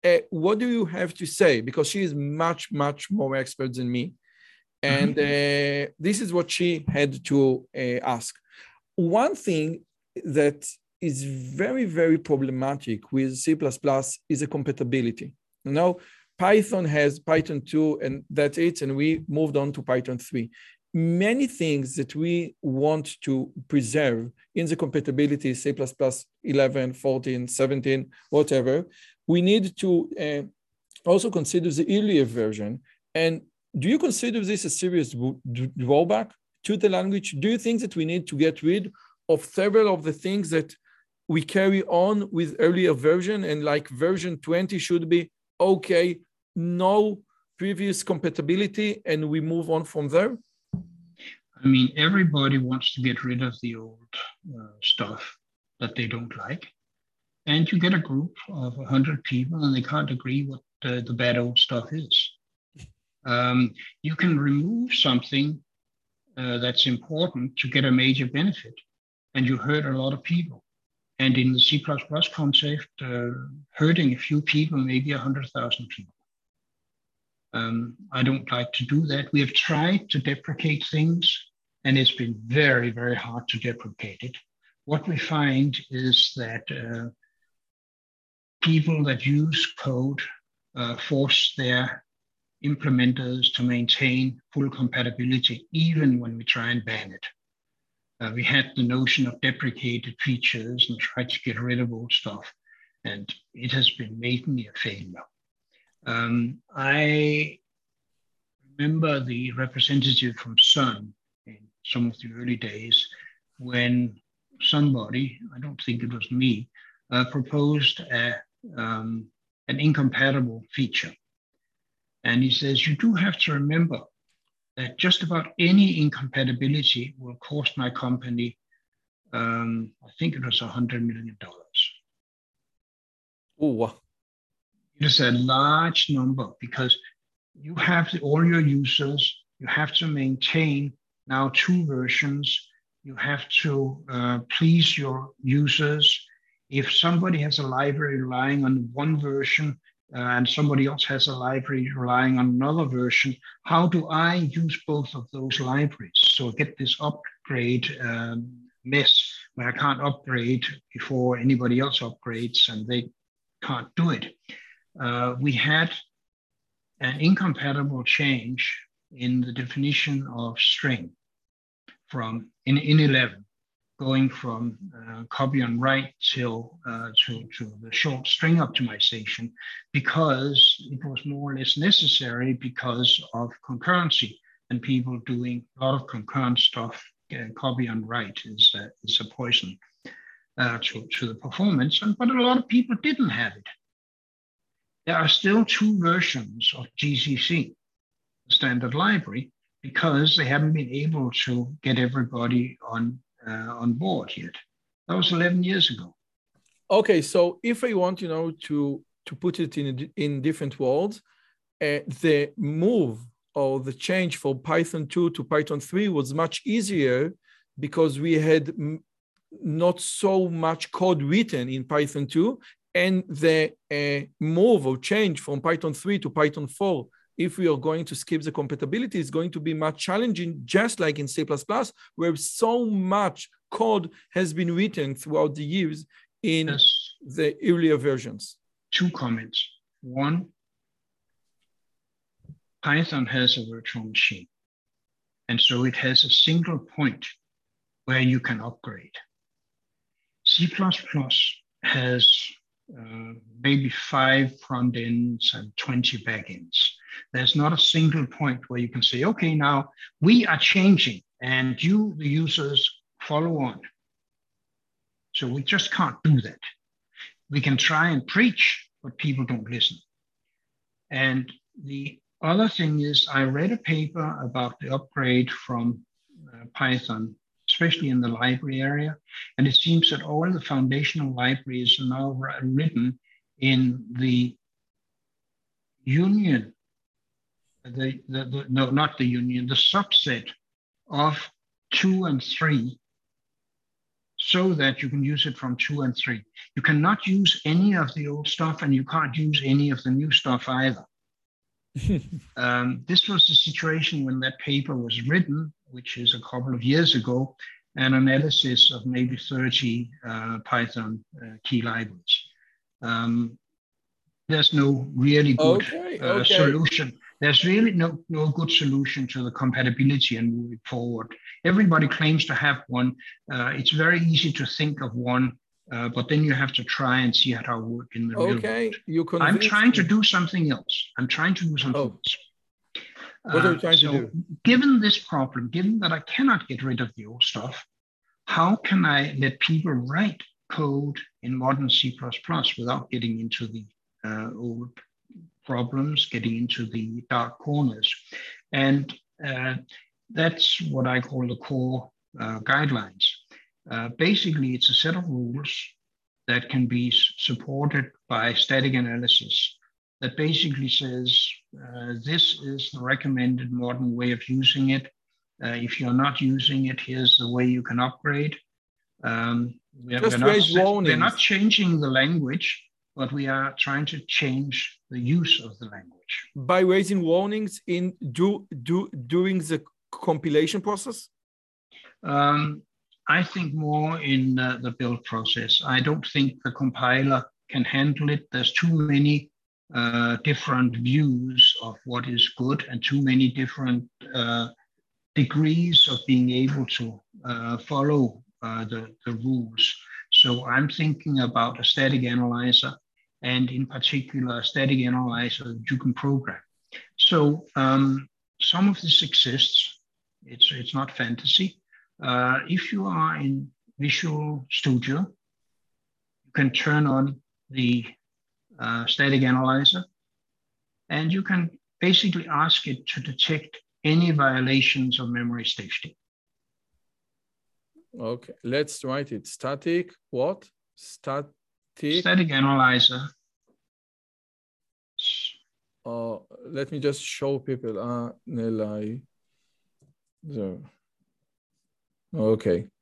uh, what do you have to say? Because she is much, much more expert than me. And uh, this is what she had to uh, ask. One thing that is very, very problematic with C plus plus is a compatibility. You know, Python has Python two and that's it, and we moved on to Python three. Many things that we want to preserve in the compatibility, C plus plus eleven, fourteen, seventeen, whatever, we need to uh, also consider the earlier version. And do you consider this a serious drawback to the language? Do you think that we need to get rid of several of the things that we carry on with earlier version, and like version twenty should be okay, no previous compatibility, and we move on from there? I mean, everybody wants to get rid of the old uh, stuff that they don't like. And you get a group of one hundred people and they can't agree what uh, the bad old stuff is. Um, you can remove something uh, that's important to get a major benefit, and you hurt a lot of people. And in the C plus plus concept, uh, hurting a few people, maybe one hundred thousand people. Um, I don't like to do that. We have tried to deprecate things, and it's been very, very hard to deprecate it. What we find is that uh, people that use code uh, force their implementers to maintain full compatibility, even when we try and ban it. Uh, we had the notion of deprecated features and tried to get rid of old stuff, and it has been mainly a failure. Um, I remember the representative from Sun in some of the early days when somebody, I don't think it was me, uh, proposed a, um, an incompatible feature. And he says, you do have to remember that just about any incompatibility will cost my company, um, I think it was one hundred million dollars. Oh, it is a large number because you have the, all your users, you have to maintain now two versions, you have to uh, please your users. If somebody has a library relying on one version, Uh, and somebody else has a library relying on another version, how do I use both of those libraries? So I get this upgrade um, mess where I can't upgrade before anybody else upgrades and they can't do it. Uh, we had an incompatible change in the definition of string from in, in eleven. Going from uh, copy on write till uh, to, to the short string optimization, because it was more or less necessary because of concurrency and people doing a lot of concurrent stuff. Uh, copy on write is, uh, is a poison uh, to, to the performance, and, but a lot of people didn't have it. There are still two versions of G C C, the standard library, because they haven't been able to get everybody on Uh, on board yet. That was eleven years ago. Okay, so if I want, you know, to to put it in in different words, uh, the move or the change from Python two to Python three was much easier because we had m- not so much code written in Python two, and the uh, move or change from Python three to Python four, if we are going to skip the compatibility, is going to be much challenging, just like in C plus plus, where so much code has been written throughout the years in Yes. the earlier versions. Two comments. One, Python has a virtual machine, and so it has a single point where you can upgrade. C plus plus has uh, maybe five front ends and twenty back ends. There's not a single point where you can say, okay, now we are changing and you, the users, follow on. So we just can't do that. We can try and preach, but people don't listen. And the other thing is, I read a paper about the upgrade from uh, Python, especially in the library area. And it seems that all the foundational libraries are now written in the union, the, the, the no, not the union, the subset of two and three. so that you can use it from two and three. You cannot use any of the old stuff, and you can't use any of the new stuff either. um, this was the situation when that paper was written, which is a couple of years ago, an analysis of maybe thirty uh, Python uh, key libraries. Um, there's no really good okay, uh, okay. solution. There's really no, no good solution to the compatibility and moving forward. Everybody claims to have one. Uh, it's very easy to think of one, uh, but then you have to try and see how it works in the real world. Okay, you I'm trying me. to do something else. I'm trying to do something oh. else. What are you trying uh, so to do? Given this problem, given that I cannot get rid of the old stuff, how can I let people write code in modern C plus plus without getting into the uh, old problems, getting into the dark corners? And uh, that's what I call the core uh, guidelines. Uh, basically, it's a set of rules that can be supported by static analysis that basically says, uh, this is the recommended modern way of using it. Uh, if you're not using it, here's the way you can upgrade. Um, we're, Just we're, raise not, warnings. we're not changing the language, but we are trying to change the use of the language. By raising warnings in do, do, during the compilation process? Um, I think more in uh, the build process. I don't think the compiler can handle it. There's too many uh, different views of what is good and too many different uh, degrees of being able to uh, follow uh, the, the rules. So I'm thinking about a static analyzer, and in particular, a static analyzer that you can program. So um, some of this exists. It's, it's not fantasy. Uh, if you are in Visual Studio, you can turn on the uh, static analyzer, and you can basically ask it to detect any violations of memory safety. Okay, let's write it. Static, what? Static. Static analyzer. Uh, let me just show people. Uh, Nelai. So. Okay.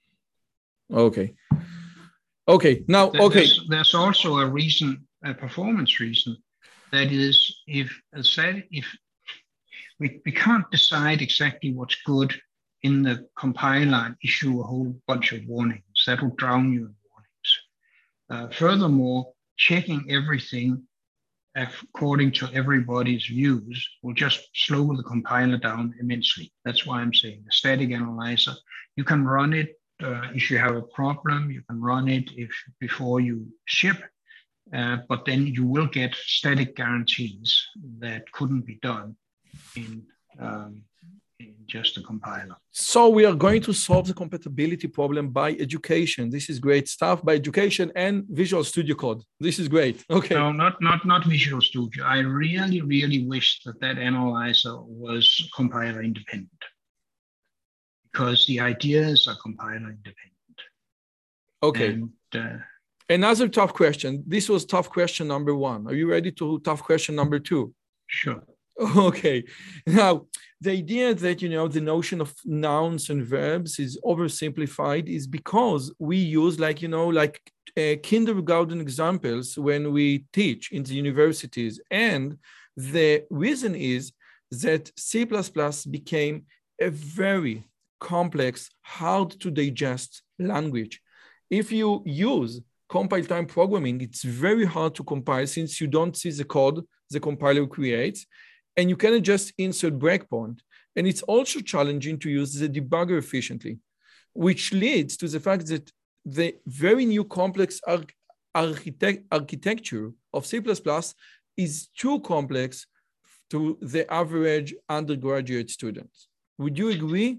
Okay. Okay. Now, okay. There's, there's also a reason, a performance reason. That is, if said, if we, we can't decide exactly what's good in the compiler and issue a whole bunch of warnings. That will drown you in warnings. Uh, furthermore, checking everything according to everybody's views will just slow the compiler down immensely. That's why I'm saying the static analyzer, you can run it uh, if you have a problem, you can run it if before you ship, uh, but then you will get static guarantees that couldn't be done in, um, in just a compiler. So we are going to solve the compatibility problem by education. This is great stuff, by education and Visual Studio Code. This is great. Okay. No, not not not Visual Studio. I really, really wish that that analyzer was compiler independent, because the ideas are compiler independent. Okay. And, uh, Another tough question. This was tough question number one. Are you ready to tough question number two? Sure. Okay. Now, the idea that, you know, the notion of nouns and verbs is oversimplified is because we use, like, you know, like uh, kindergarten examples when we teach in the universities. And the reason is that C plus plus became a very complex, hard to digest language. If you use compile time programming, it's very hard to compile since you don't see the code the compiler creates, and you cannot just insert breakpoint. And it's also challenging to use the debugger efficiently, which leads to the fact that the very new complex arch architect architecture of C plus plus is too complex to the average undergraduate student. Would you agree?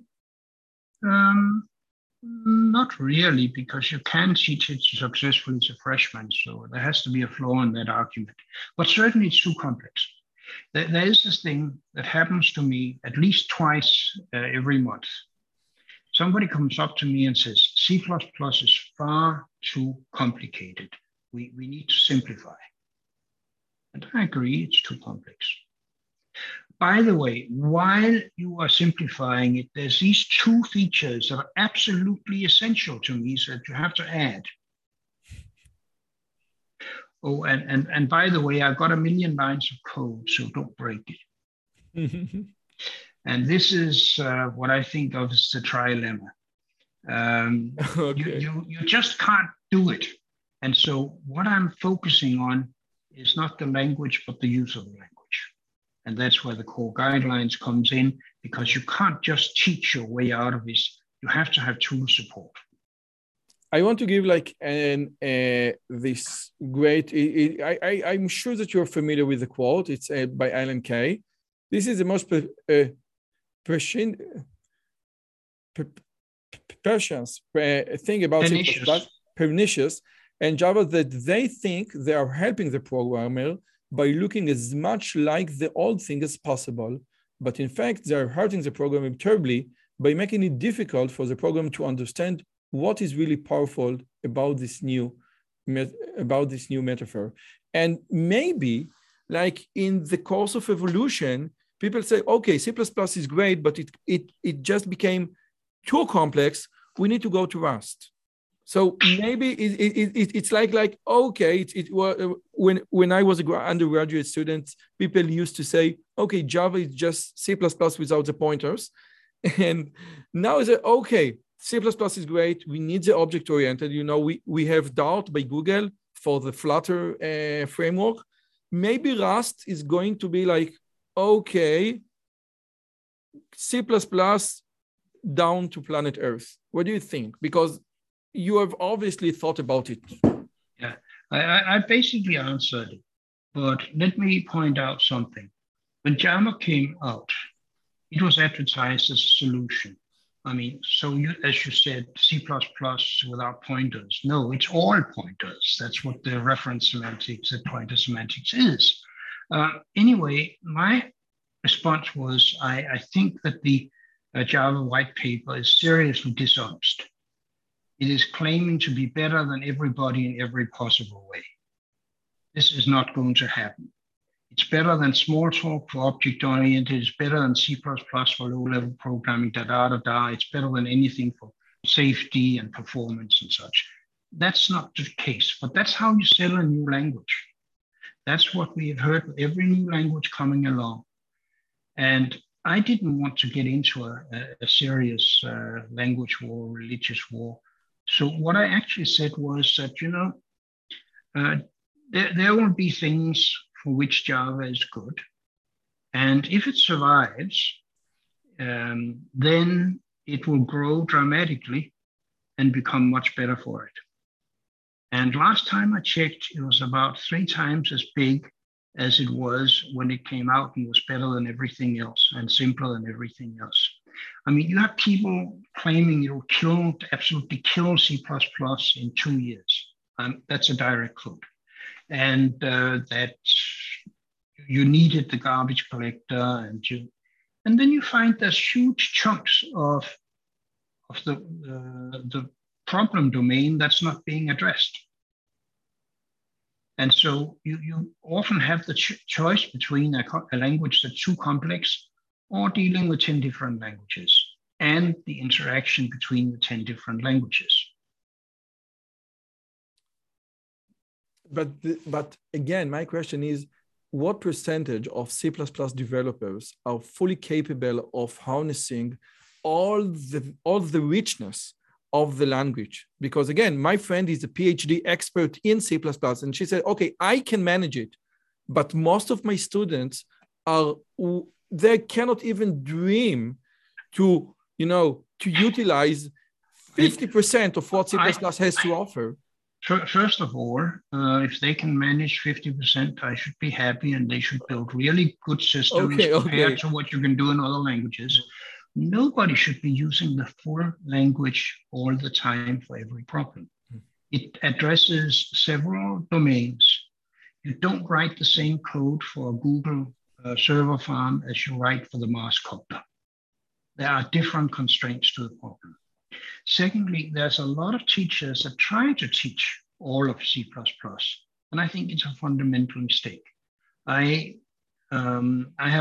Um, not really, because you can teach it successfully as a freshman, so there has to be a flaw in that argument. But certainly it's too complex. There, there is this thing that happens to me at least twice uh, every month. Somebody comes up to me and says, C plus plus is far too complicated. We, we need to simplify. And I agree, it's too complex. by the way, while you are simplifying it, there's these two features that are absolutely essential to me so that you have to add. Oh, and, and, and by the way, I've got a million lines of code, so don't break it. And this is uh, what I think of as the trilemma. Um, okay. you, you, you just can't do it. And so what I'm focusing on is not the language, but the use of the language. And that's where the core guidelines comes in, because you can't just teach your way out of this. You have to have tool support. I want to give like an uh, this great, it, it, I, I, I'm sure that you're familiar with the quote. It's uh, by Alan Kay. This is the most per, uh, prescient, per, prescience uh, thing about pernicious. C++, pernicious and Java, that they think they are helping the programmer by looking as much like the old thing as possible. But in fact, they're hurting the programmer terribly by making it difficult for the program to understand what is really powerful about this new, about this new metaphor. And maybe, like in the course of evolution, people say, okay, C plus plus is great, but it, it, it just became too complex. We need to go to Rust. So maybe it, it, it, it's like, like okay, it, it, when, when I was an undergraduate student, people used to say, okay, Java is just C plus plus without the pointers. And now it's like, okay, C plus plus is great. We need the object-oriented. You know, we, we have Dart by Google for the Flutter uh, framework. Maybe Rust is going to be like, okay, C plus plus down to planet Earth. What do you think? Because you have obviously thought about it. Yeah, I, I basically answered it. But let me point out something. When Java came out, it was advertised as a solution. I mean, so you, as you said, C plus plus without pointers. No, it's all pointers. That's what the reference semantics, the pointer semantics is. Uh, anyway, my response was, I, I think that the uh, Java white paper is seriously dishonest. It is claiming to be better than everybody in every possible way. This is not going to happen. It's better than Smalltalk for object-oriented. It's better than C plus plus for low-level programming, da-da-da-da. It's better than anything for safety and performance and such. That's not the case, but that's how you sell a new language. That's what we have heard with every new language coming along. And I didn't want to get into a, a serious uh, language war, religious war. So what I actually said was that, you know, uh, there, there will be things for which Java is good. And if it survives, um, then it will grow dramatically and become much better for it. And last time I checked, it was about three times as big as it was when it came out and was better than everything else and simpler than everything else. I mean, you have people claiming it will kill, absolutely kill C plus plus in two years. Um, that's a direct quote. And uh, that you needed the garbage collector, and you, and then you find there's huge chunks of of the uh, the problem domain that's not being addressed. And so you you often have the ch choice between a, a language that's too complex or dealing with ten different languages and the interaction between the ten different languages. But, but again, my question is, what percentage of C plus plus developers are fully capable of harnessing all the, all the richness of the language? Because again, my friend is a PhD expert in C plus plus, and she said, okay, I can manage it, but most of my students are, they cannot even dream to, you know, to utilize fifty percent of what C plus plus has to offer. First of all, uh, if they can manage fifty percent, I should be happy, and they should build really good systems okay, compared okay. to what you can do in other languages. Nobody should be using the full language all the time for every problem. It addresses several domains. You don't write the same code for a Google uh, server farm as you write for the Mars copter. There are different constraints to the problem. Secondly, there's a lot of teachers that try to teach all of C plus plus, and I think it's a fundamental mistake. I, um, I had a,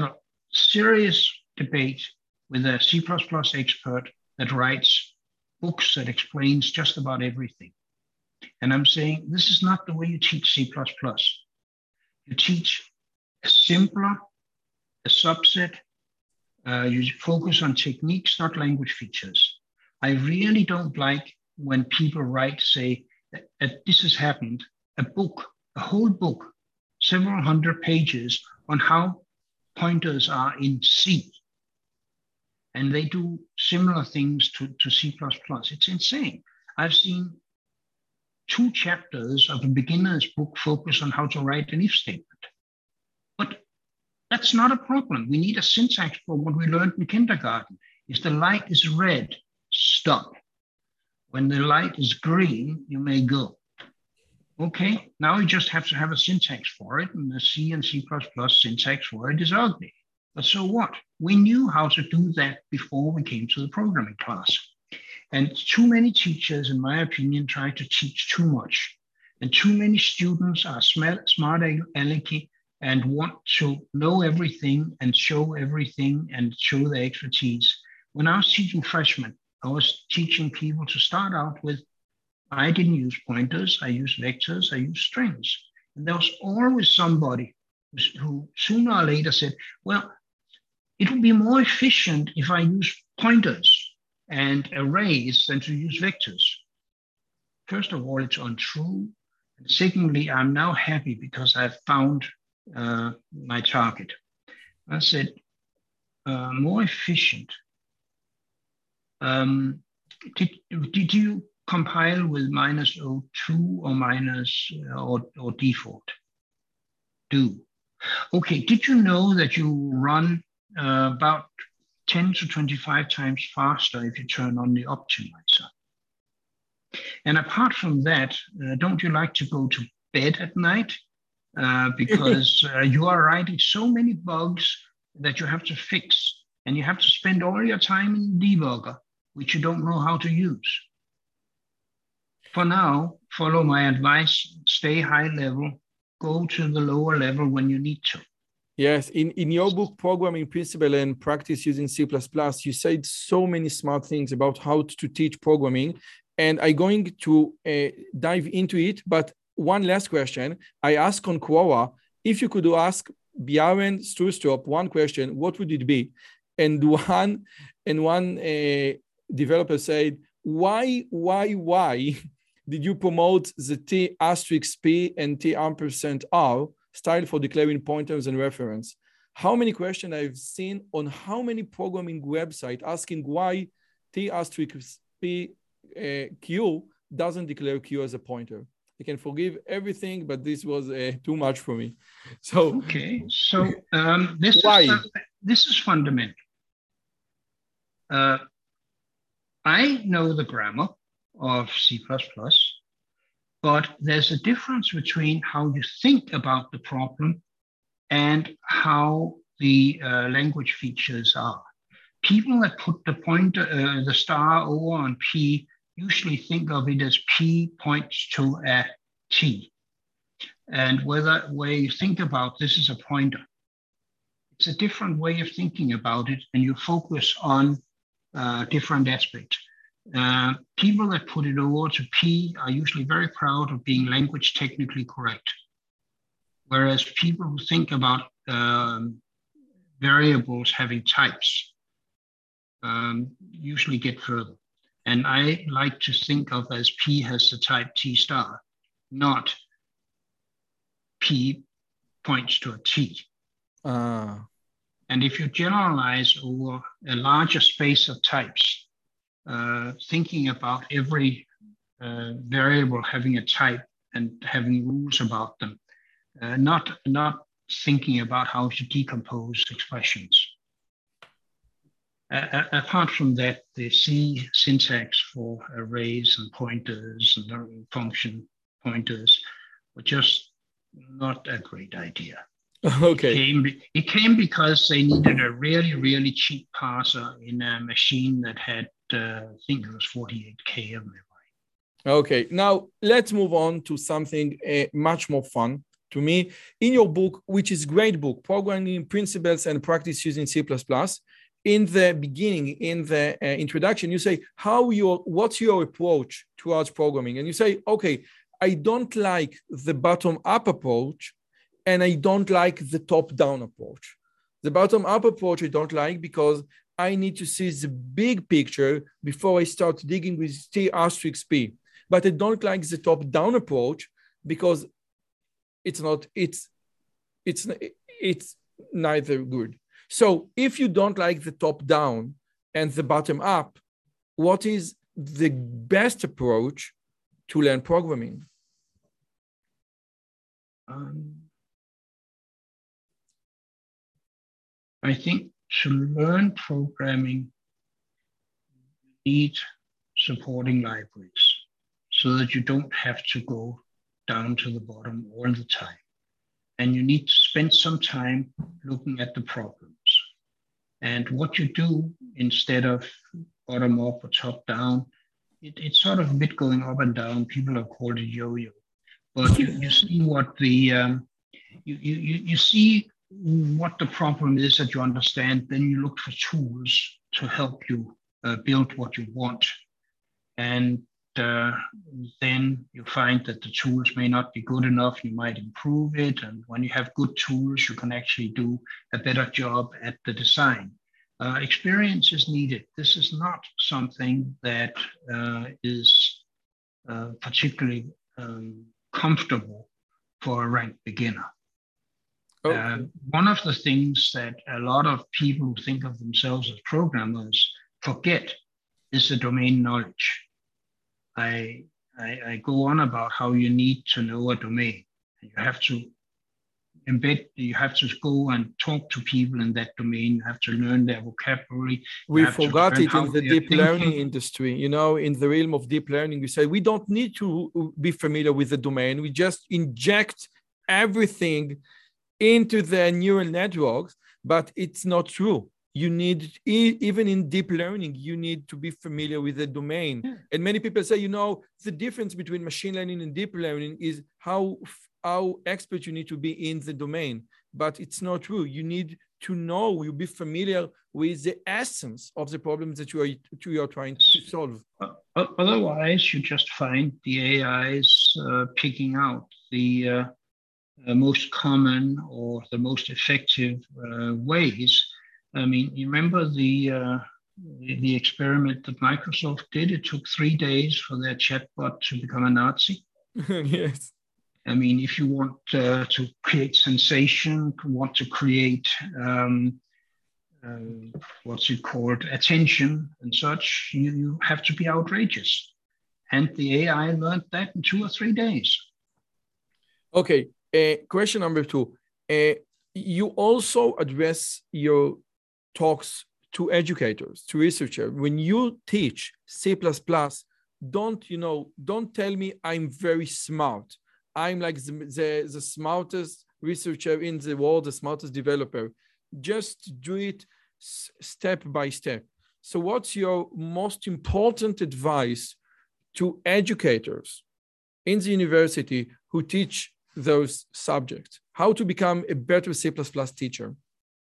serious debate with a C plus plus expert that writes books that explains just about everything. And I'm saying, this is not the way you teach C plus plus. You teach a simpler, a subset. Uh, you focus on techniques, not language features. I really don't like when people write, say, that, that this has happened, a book, a whole book, several hundred pages on how pointers are in C. And they do similar things to, to C plus plus. It's insane. I've seen two chapters of a beginner's book focus on how to write an if statement. But that's not a problem. We need a syntax for what we learned in kindergarten. If the light is red, stop. When the light is green, you may go. Okay, now you just have to have a syntax for it, and the C and C plus plus syntax for it is ugly. But so what? We knew how to do that before we came to the programming class. And too many teachers, in my opinion, try to teach too much. And too many students are smart, smart alecky and want to know everything and show everything and show their expertise. When I was teaching freshmen, I was teaching people to start out with, I didn't use pointers, I used vectors, I used strings. And there was always somebody who sooner or later said, well, it would be more efficient if I use pointers and arrays than to use vectors. First of all, it's untrue. And secondly, I'm now happy because I've found uh, my target. I said, uh, more efficient. Um, did, did you compile with minus O two or minus uh, or, or default? Do. Okay, did you know that you run uh, about ten to twenty-five times faster if you turn on the optimizer? And apart from that, uh, don't you like to go to bed at night? Uh, because uh, you are writing so many bugs that you have to fix, and you have to spend all your time in debugger, which you don't know how to use. For now, follow my advice, stay high level, go to the lower level when you need to. Yes, in, in your book, Programming Principle and Practice Using C plus plus, you said so many smart things about how to teach programming, and I'm going to uh, dive into it. But one last question. I asked on Quora, if you could ask Bjørn Stroustrup one question, what would it be? And one, and one uh, developer said, why, why, why did you promote the T asterisk P and T ampersand R style for declaring pointers and reference? How many questions I've seen on how many programming websites asking why T asterisk P uh, Q doesn't declare Q as a pointer. I can forgive everything, but this was uh, too much for me. So okay, so um, this why? is uh, this is fundamental. Uh, I know the grammar of C plus plus, but there's a difference between how you think about the problem and how the uh, language features are. People that put the pointer, uh, the star over on P, usually think of it as P points to a T. And whether where you think about this is a pointer. It's a different way of thinking about it, and you focus on uh, different aspects. Uh, people that put it over to P are usually very proud of being language technically correct. Whereas people who think about um, variables having types um, usually get further. And I like to think of as P has the type T star, not P points to a T. Ah. And if you generalize over a larger space of types, uh, thinking about every uh, variable having a type and having rules about them, uh, not, not thinking about how to decompose expressions. Uh, apart from that, the C syntax for arrays and pointers and function pointers were just not a great idea. Okay. It came, it came because they needed a really, really cheap parser in a machine that had, uh, I think it was forty-eight K of memory. Okay, now let's move on to something uh, much more fun. to me. In your book, which is great book, Programming Principles and Practice Using C plus plus, in the beginning, in the uh, introduction, you say, how your, what's your approach towards programming? And you say, okay, I don't like the bottom-up approach, and I don't like the top-down approach. The bottom-up approach I don't like because I need to see the big picture before I start digging with T asterisk P. But I don't like the top-down approach because it's not, it's, it's, it's neither good. So if you don't like the top-down and the bottom-up, what is the best approach to learn programming? Um, I think to learn programming, you need supporting libraries so that you don't have to go down to the bottom all the time. And you need to spend some time looking at the problems. And what you do instead of bottom up or top down, it, it's sort of a bit going up and down. People have called it yo-yo. But you, you see what the, um, you, you, you see what the problem is that you understand, then you look for tools to help you uh, build what you want. And uh, then you find that the tools may not be good enough, you might improve it. And when you have good tools, you can actually do a better job at the design. Uh, experience is needed. This is not something that uh, is uh, particularly um, comfortable for a ranked beginner. Okay. Uh, one of the things that a lot of people who think of themselves as programmers forget is the domain knowledge. I, I, I go on about how you need to know a domain. You have to embed, you have to go and talk to people in that domain. You have to learn their vocabulary. We forgot it in the deep learning industry. You know, in the realm of deep learning, we say we don't need to be familiar with the domain. We just inject everything into the neural networks, but it's not true. You need, even in deep learning, you need to be familiar with the domain. Yeah. And many people say, you know, the difference between machine learning and deep learning is how, how expert you need to be in the domain. But it's not true. You need to know, you be familiar with the essence of the problems that you are, you are trying to solve. Uh, otherwise, you just find the A Is uh, picking out the uh, uh, most common or the most effective uh, ways. I mean, you remember the, uh, the the experiment that Microsoft did? It took three days for their chatbot to become a Nazi. Yes. I mean, if you want uh, to create sensation, want to create um, uh, what's it called, attention and such, you, you have to be outrageous. And the A I learned that in two or three days. Okay. Uh, question number two. Uh, you also address your talks to educators, to researchers. When you teach C plus plus, don't, you know, don't tell me I'm very smart. I'm like the, the, the smartest researcher in the world, the smartest developer. Just do it step by step. So what's your most important advice to educators in the university who teach those subjects? How to become a better C plus plus teacher?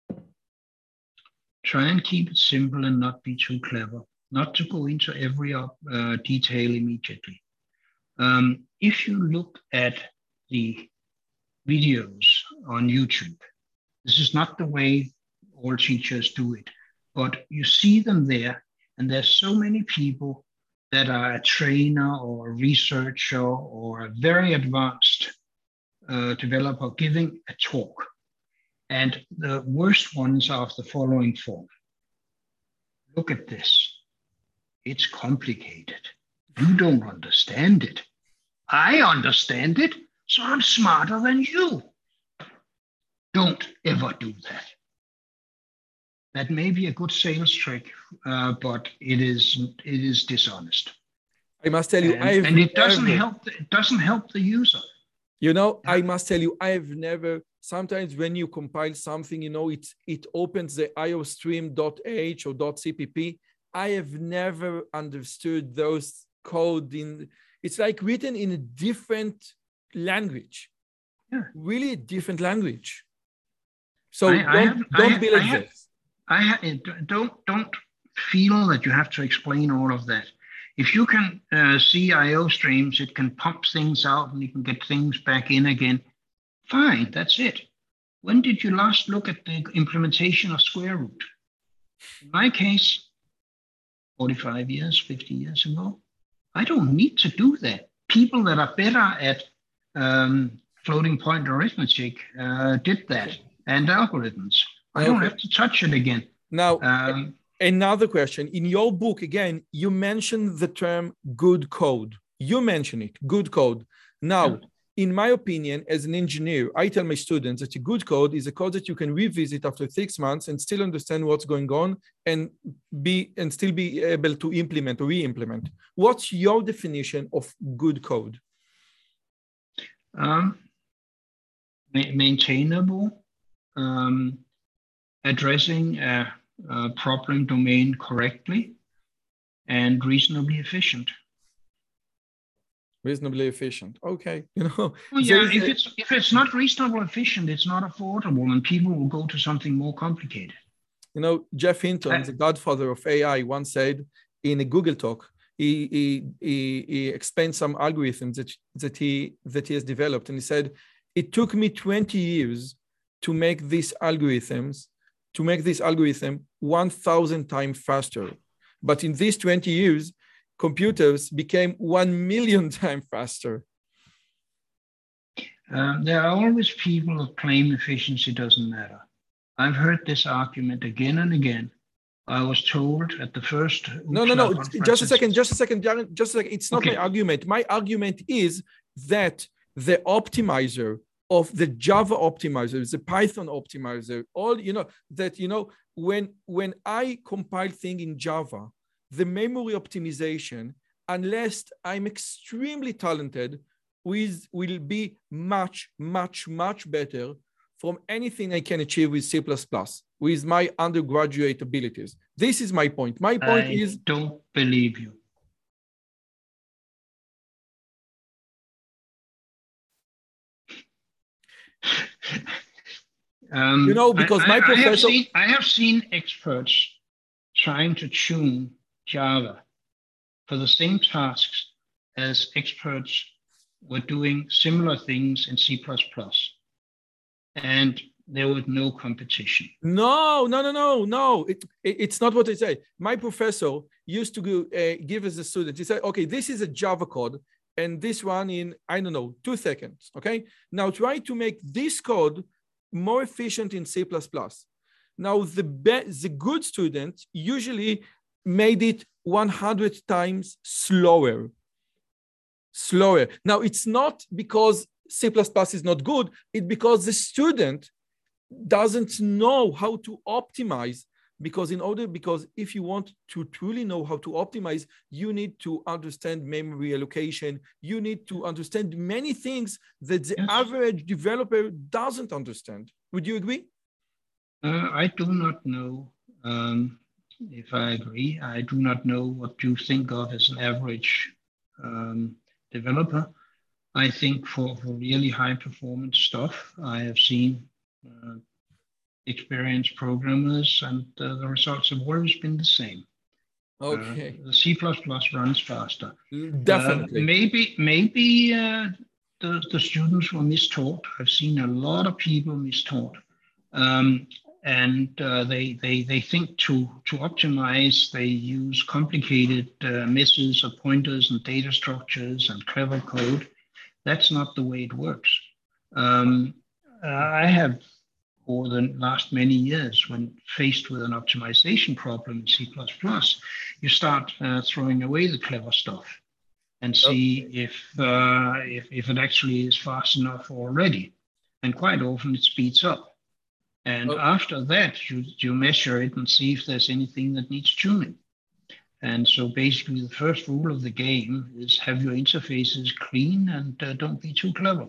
Try and keep it simple and not be too clever, not to go into every uh, detail immediately. Um, if you look at the videos on YouTube, this is not the way all teachers do it, but you see them there, and there's so many people that are a trainer or a researcher or a very advanced uh, developer giving a talk. And the worst ones are of the following form. Look at this. It's complicated. You don't understand it. I understand it, so I'm smarter than you. Don't ever do that. That may be a good sales trick, uh, but it is it is dishonest. I must tell you, and, I've and it doesn't never, help. The, it doesn't help the user. You know, I must tell you, I've never. Sometimes when you compile something, you know, it it opens the iostream.h or .cpp. I have never understood those code in. It's like written in a different language. Yeah. really a different language. So I, don't, I have, don't I be have, like I have, this. I ha- don't don't feel that you have to explain all of that. If you can uh, see I O streams, it can pump things out and you can get things back in again. Fine, that's it. When did you last look at the implementation of square root? In my case, forty-five years, fifty years ago, I don't need to do that. People that are better at um, floating point arithmetic uh, did that, and algorithms. I don't Okay. have to touch it again. Now, Um, another question. In your book, again, you mentioned the term good code. You mention it, good code. Now, Yeah. in my opinion, as an engineer, I tell my students that a good code is a code that you can revisit after six months and still understand what's going on and be and still be able to implement or re-implement. What's your definition of good code? Um, ma- maintainable, um, addressing a, a problem domain correctly, and reasonably efficient. Reasonably efficient. Okay, you know. Well, yeah, if a, it's if it's not reasonable efficient, it's not affordable, and people will go to something more complicated. You know, Jeff Hinton, the godfather of A I, once said in a Google talk, he he he, he explained some algorithms that that he that he has developed, and he said, "It took me twenty years to make these algorithms, to make this algorithm one thousand times faster, but in these twenty years." Computers became one million times faster. Um, there are always people who claim efficiency doesn't matter. I've heard this argument again and again. I was told at the first no, no, no. Just a second. Just a second. Just a second. It's not okay. my argument. My argument is that the optimizer of the Java optimizer, the Python optimizer, all you know that you know when when I compile thing in Java. The memory optimization, unless I'm extremely talented, with, will be much, much, much better from anything I can achieve with C plus plus, with my undergraduate abilities. This is my point. My point I is... I don't believe you. um, you know, because I, my I, professor... I have, seen, I have seen experts trying to tune Java for the same tasks as experts were doing similar things in C plus plus. And there was no competition. No, no, no, no, no. It, it, it's not what I say. My professor used to go, uh, give us a student. He said, okay, this is a Java code, and this one in, I don't know, two seconds, okay? Now try to make this code more efficient in C plus plus. Now the, be- the good student usually made it one hundred times slower. Slower. Now, it's not because C plus plus is not good, it's because the student doesn't know how to optimize. Because in order, because if you want to truly know how to optimize, you need to understand memory allocation. You need to understand many things that the yes. average developer doesn't understand. Would you agree? Uh, I do not know um, if I agree. I do not know what you think of as an average um, developer. I think for, for really high performance stuff, I have seen uh, experienced programmers, and uh, the results have always been the same. Okay. Uh, the C plus plus runs faster. Definitely. Uh, maybe maybe uh, the, the students were mistaught. I've seen a lot of people mistaught. Um, and uh, they, they, they think to, to optimize, they use complicated uh, messes of pointers and data structures and clever code. That's not the way it works. Um, uh, I have, for the last many years, when faced with an optimization problem in C plus plus, you start uh, throwing away the clever stuff and see okay. if, uh, if, if it actually is fast enough already. And quite often it speeds up. And okay. after that, you, you measure it and see if there's anything that needs tuning. And so basically the first rule of the game is have your interfaces clean and uh, don't be too clever.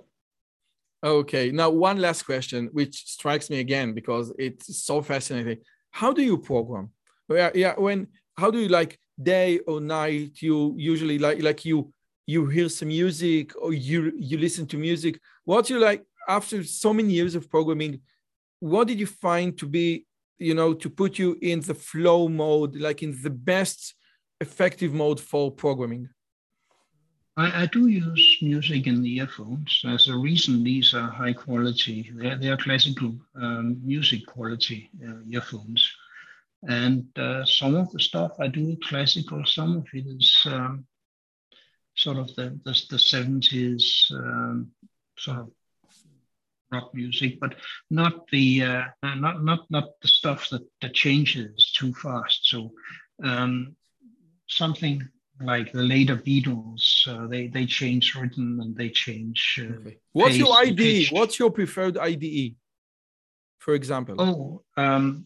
Okay, now one last question, which strikes me again because it's so fascinating. How do you program? Yeah, yeah. When how do you like day or night? You usually like like you you hear some music or you you listen to music. What you like? after so many years of programming, what did you find to be, you know, to put you in the flow mode, like in the best effective mode for programming? I, I do use music in the earphones. As a reason, these are high quality. They're, they are classical um, music quality uh, earphones. And uh, some of the stuff I do classical, some of it is um, sort of the, the, the seventies um, sort of rock music, but not the uh, not not not the stuff that, that changes too fast. So um, something like the later Beatles, uh, they they change rhythm and they change. Uh, okay. What's your I D E? Pitched. What's your preferred I D E, for example? Oh, um,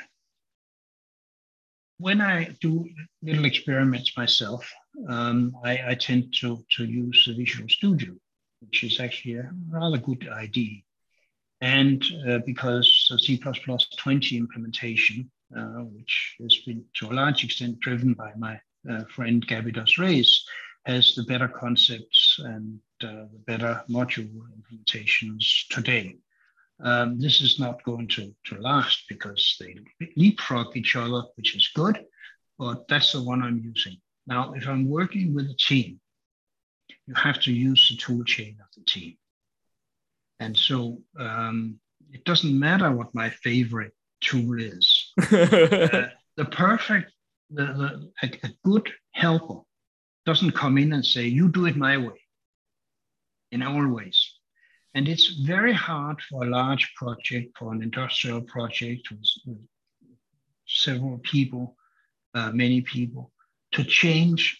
when I do little experiments myself, um, I, I tend to to use the Visual Studio, which is actually a rather good I D E. And uh, because the C plus plus twenty implementation, uh, which has been to a large extent driven by my uh, friend Gabby Dos Reis, has the better concepts and uh, the better module implementations today. Um, this is not going to, to last because they leapfrog each other, which is good, but that's the one I'm using. Now, if I'm working with a team, you have to use the tool chain of the team. And so um, it doesn't matter what my favorite tool is. uh, the perfect, the, the, a, a good helper doesn't come in and say, you do it my way, in all ways. And it's very hard for a large project, for an industrial project with, with several people, uh, many people, to change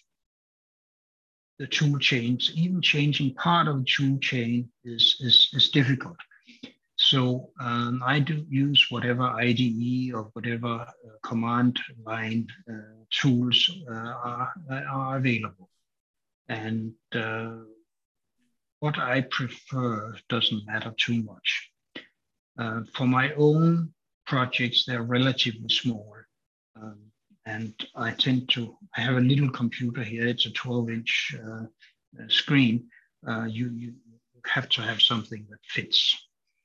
the tool chains. Even changing part of the tool chain is, is, is difficult. So um, I do use whatever I D E or whatever uh, command line uh, tools uh, are, are available. And uh, what I prefer doesn't matter too much. Uh, for my own projects, they're relatively small. Um, and I tend to, I have a little computer here, it's a twelve inch uh, screen. Uh, you, you have to have something that fits.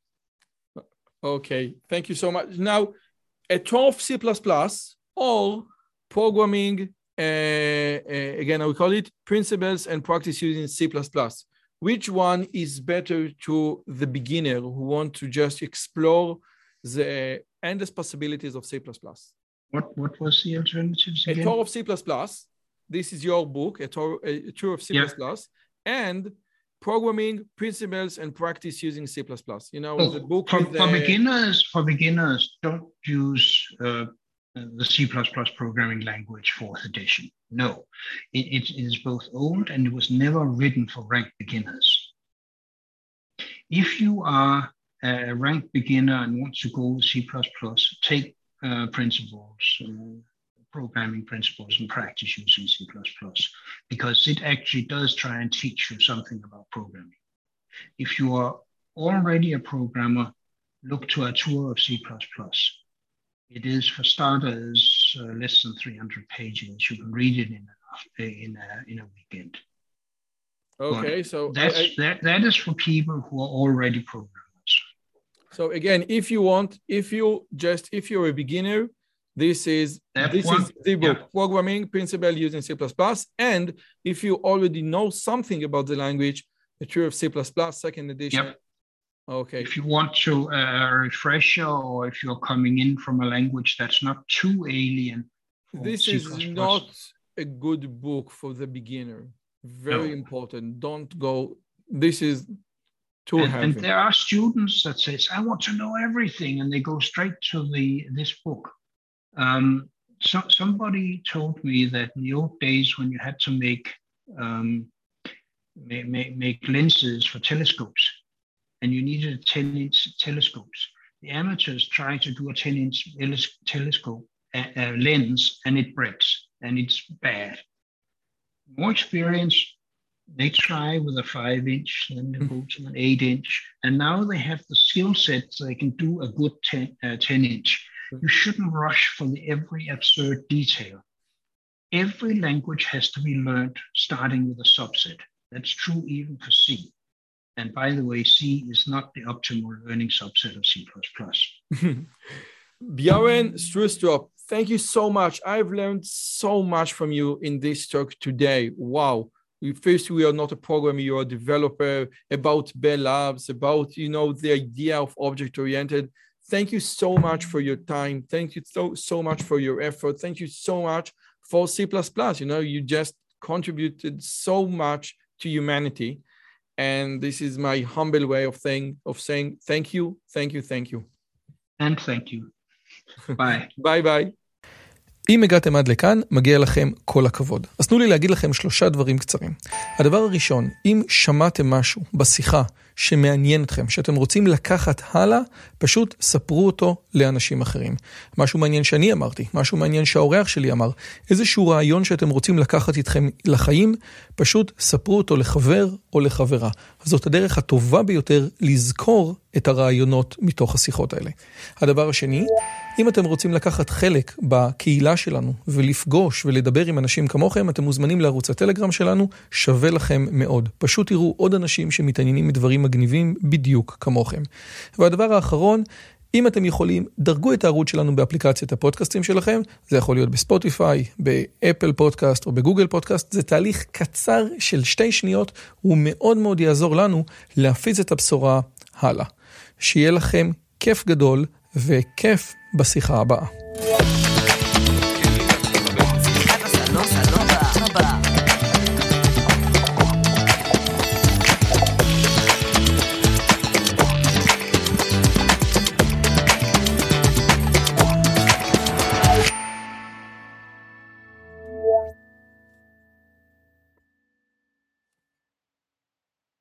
Okay, thank you so much. Now, at twelve C plus plus, or programming, uh, uh, again, I will call it principles and practice using C plus plus. Which one is better to the beginner who want to just explore the endless possibilities of C plus plus? What, what was the alternatives again? A tour of C plus plus. This is your book, a tour, a tour of C plus plus, yeah. And programming principles and practice using C plus plus. You know, oh, the book for, with for the... beginners. For beginners, don't use uh, the C plus plus programming language fourth edition. No, it, it is both old and it was never written for ranked beginners. If you are a ranked beginner and want to go with C plus plus, take uh, principles, uh, programming principles and practice using C plus plus, because it actually does try and teach you something about programming. If you are already a programmer, look to a tour of C plus plus. It is, for starters, uh, less than three hundred pages. You can read it in a, in a, in a weekend. Okay, but so that's, I, I, that, that is for people who are already programmers. So again, if you want, if you just, if you're a beginner, this is that this one, is the book, yeah. Programming Principle using C plus plus. And if you already know something about the language, the Tour of C plus plus, second edition. Yep. Okay. If you want to uh, refresher, or if you're coming in from a language that's not too alien. This C is plus plus. not a good book for the beginner. Very no. important. Don't go. This is too and, heavy. And there are students that says, I want to know everything, and they go straight to the this book. Um, so, somebody told me that in the old days when you had to make um, make, make, make lenses for telescopes, and you needed ten inch telescopes, the amateurs try to do a ten inch telescope uh, uh, lens, and it breaks, and it's bad. More experience, they try with a five inch, then they go to an eight inch, and now they have the skill set so they can do a good ten, uh, ten inch. You shouldn't rush for the every absurd detail. Every language has to be learned starting with a subset. That's true even for C. And by the way, C is not the optimal learning subset of C plus plus. Bjørn Strustrup, thank you so much. I've learned so much from you in this talk today. Wow. First, we are not a programmer, you're a developer, about Bell Labs, about, you know, the idea of object-oriented. Thank you so much for your time. Thank you so, so much for your effort. Thank you so much for C plus plus. You know, you just contributed so much to humanity. And this is my humble way of saying, of saying thank you, thank you, thank you. And thank you. ביי. ביי ביי. אם הגעתם עד לכאן, מגיע לכם כל הכבוד. אז תנו לי להגיד לכם שלושה דברים קצרים. הדבר הראשון, אם שמעתם משהו בשיחה שמעניין אתכם, שאתם רוצים לקחת הלאה, פשוט ספרו אותו לאנשים אחרים. משהו מעניין שאני אמרתי, משהו מעניין שהאורח שלי אמר, איזשהו רעיון שאתם רוצים לקחת איתכם לחיים, פשוט ספרו אותו לחבר או לחברה. זאת הדרך הטובה ביותר לזכור את הרעיונות מתוך השיחות האלה. הדבר השני, אם אתם רוצים לקחת חלק בקהילה שלנו ולפגוש ולדבר עם אנשים כמוכם, אתם מוזמנים לערוץ הטלגרם שלנו, שווה לכם מאוד. פשוט תראו עוד אנשים שמתעניינים מדברים מגניבים בדיוק כמוכם. והדבר האחרון, אם אתם יכולים, דרגו את הערוץ שלנו באפליקציית הפודקאסטים שלכם, זה יכול להיות בספוטיפיי, באפל פודקאסט או בגוגל פודקאסט, זה תהליך קצר של שתי שניות, הוא מאוד מאוד יעזור לנו להפיץ את הבשורה הלאה. שיהיה לכם כיף גדול וכיף בשיחה הבאה.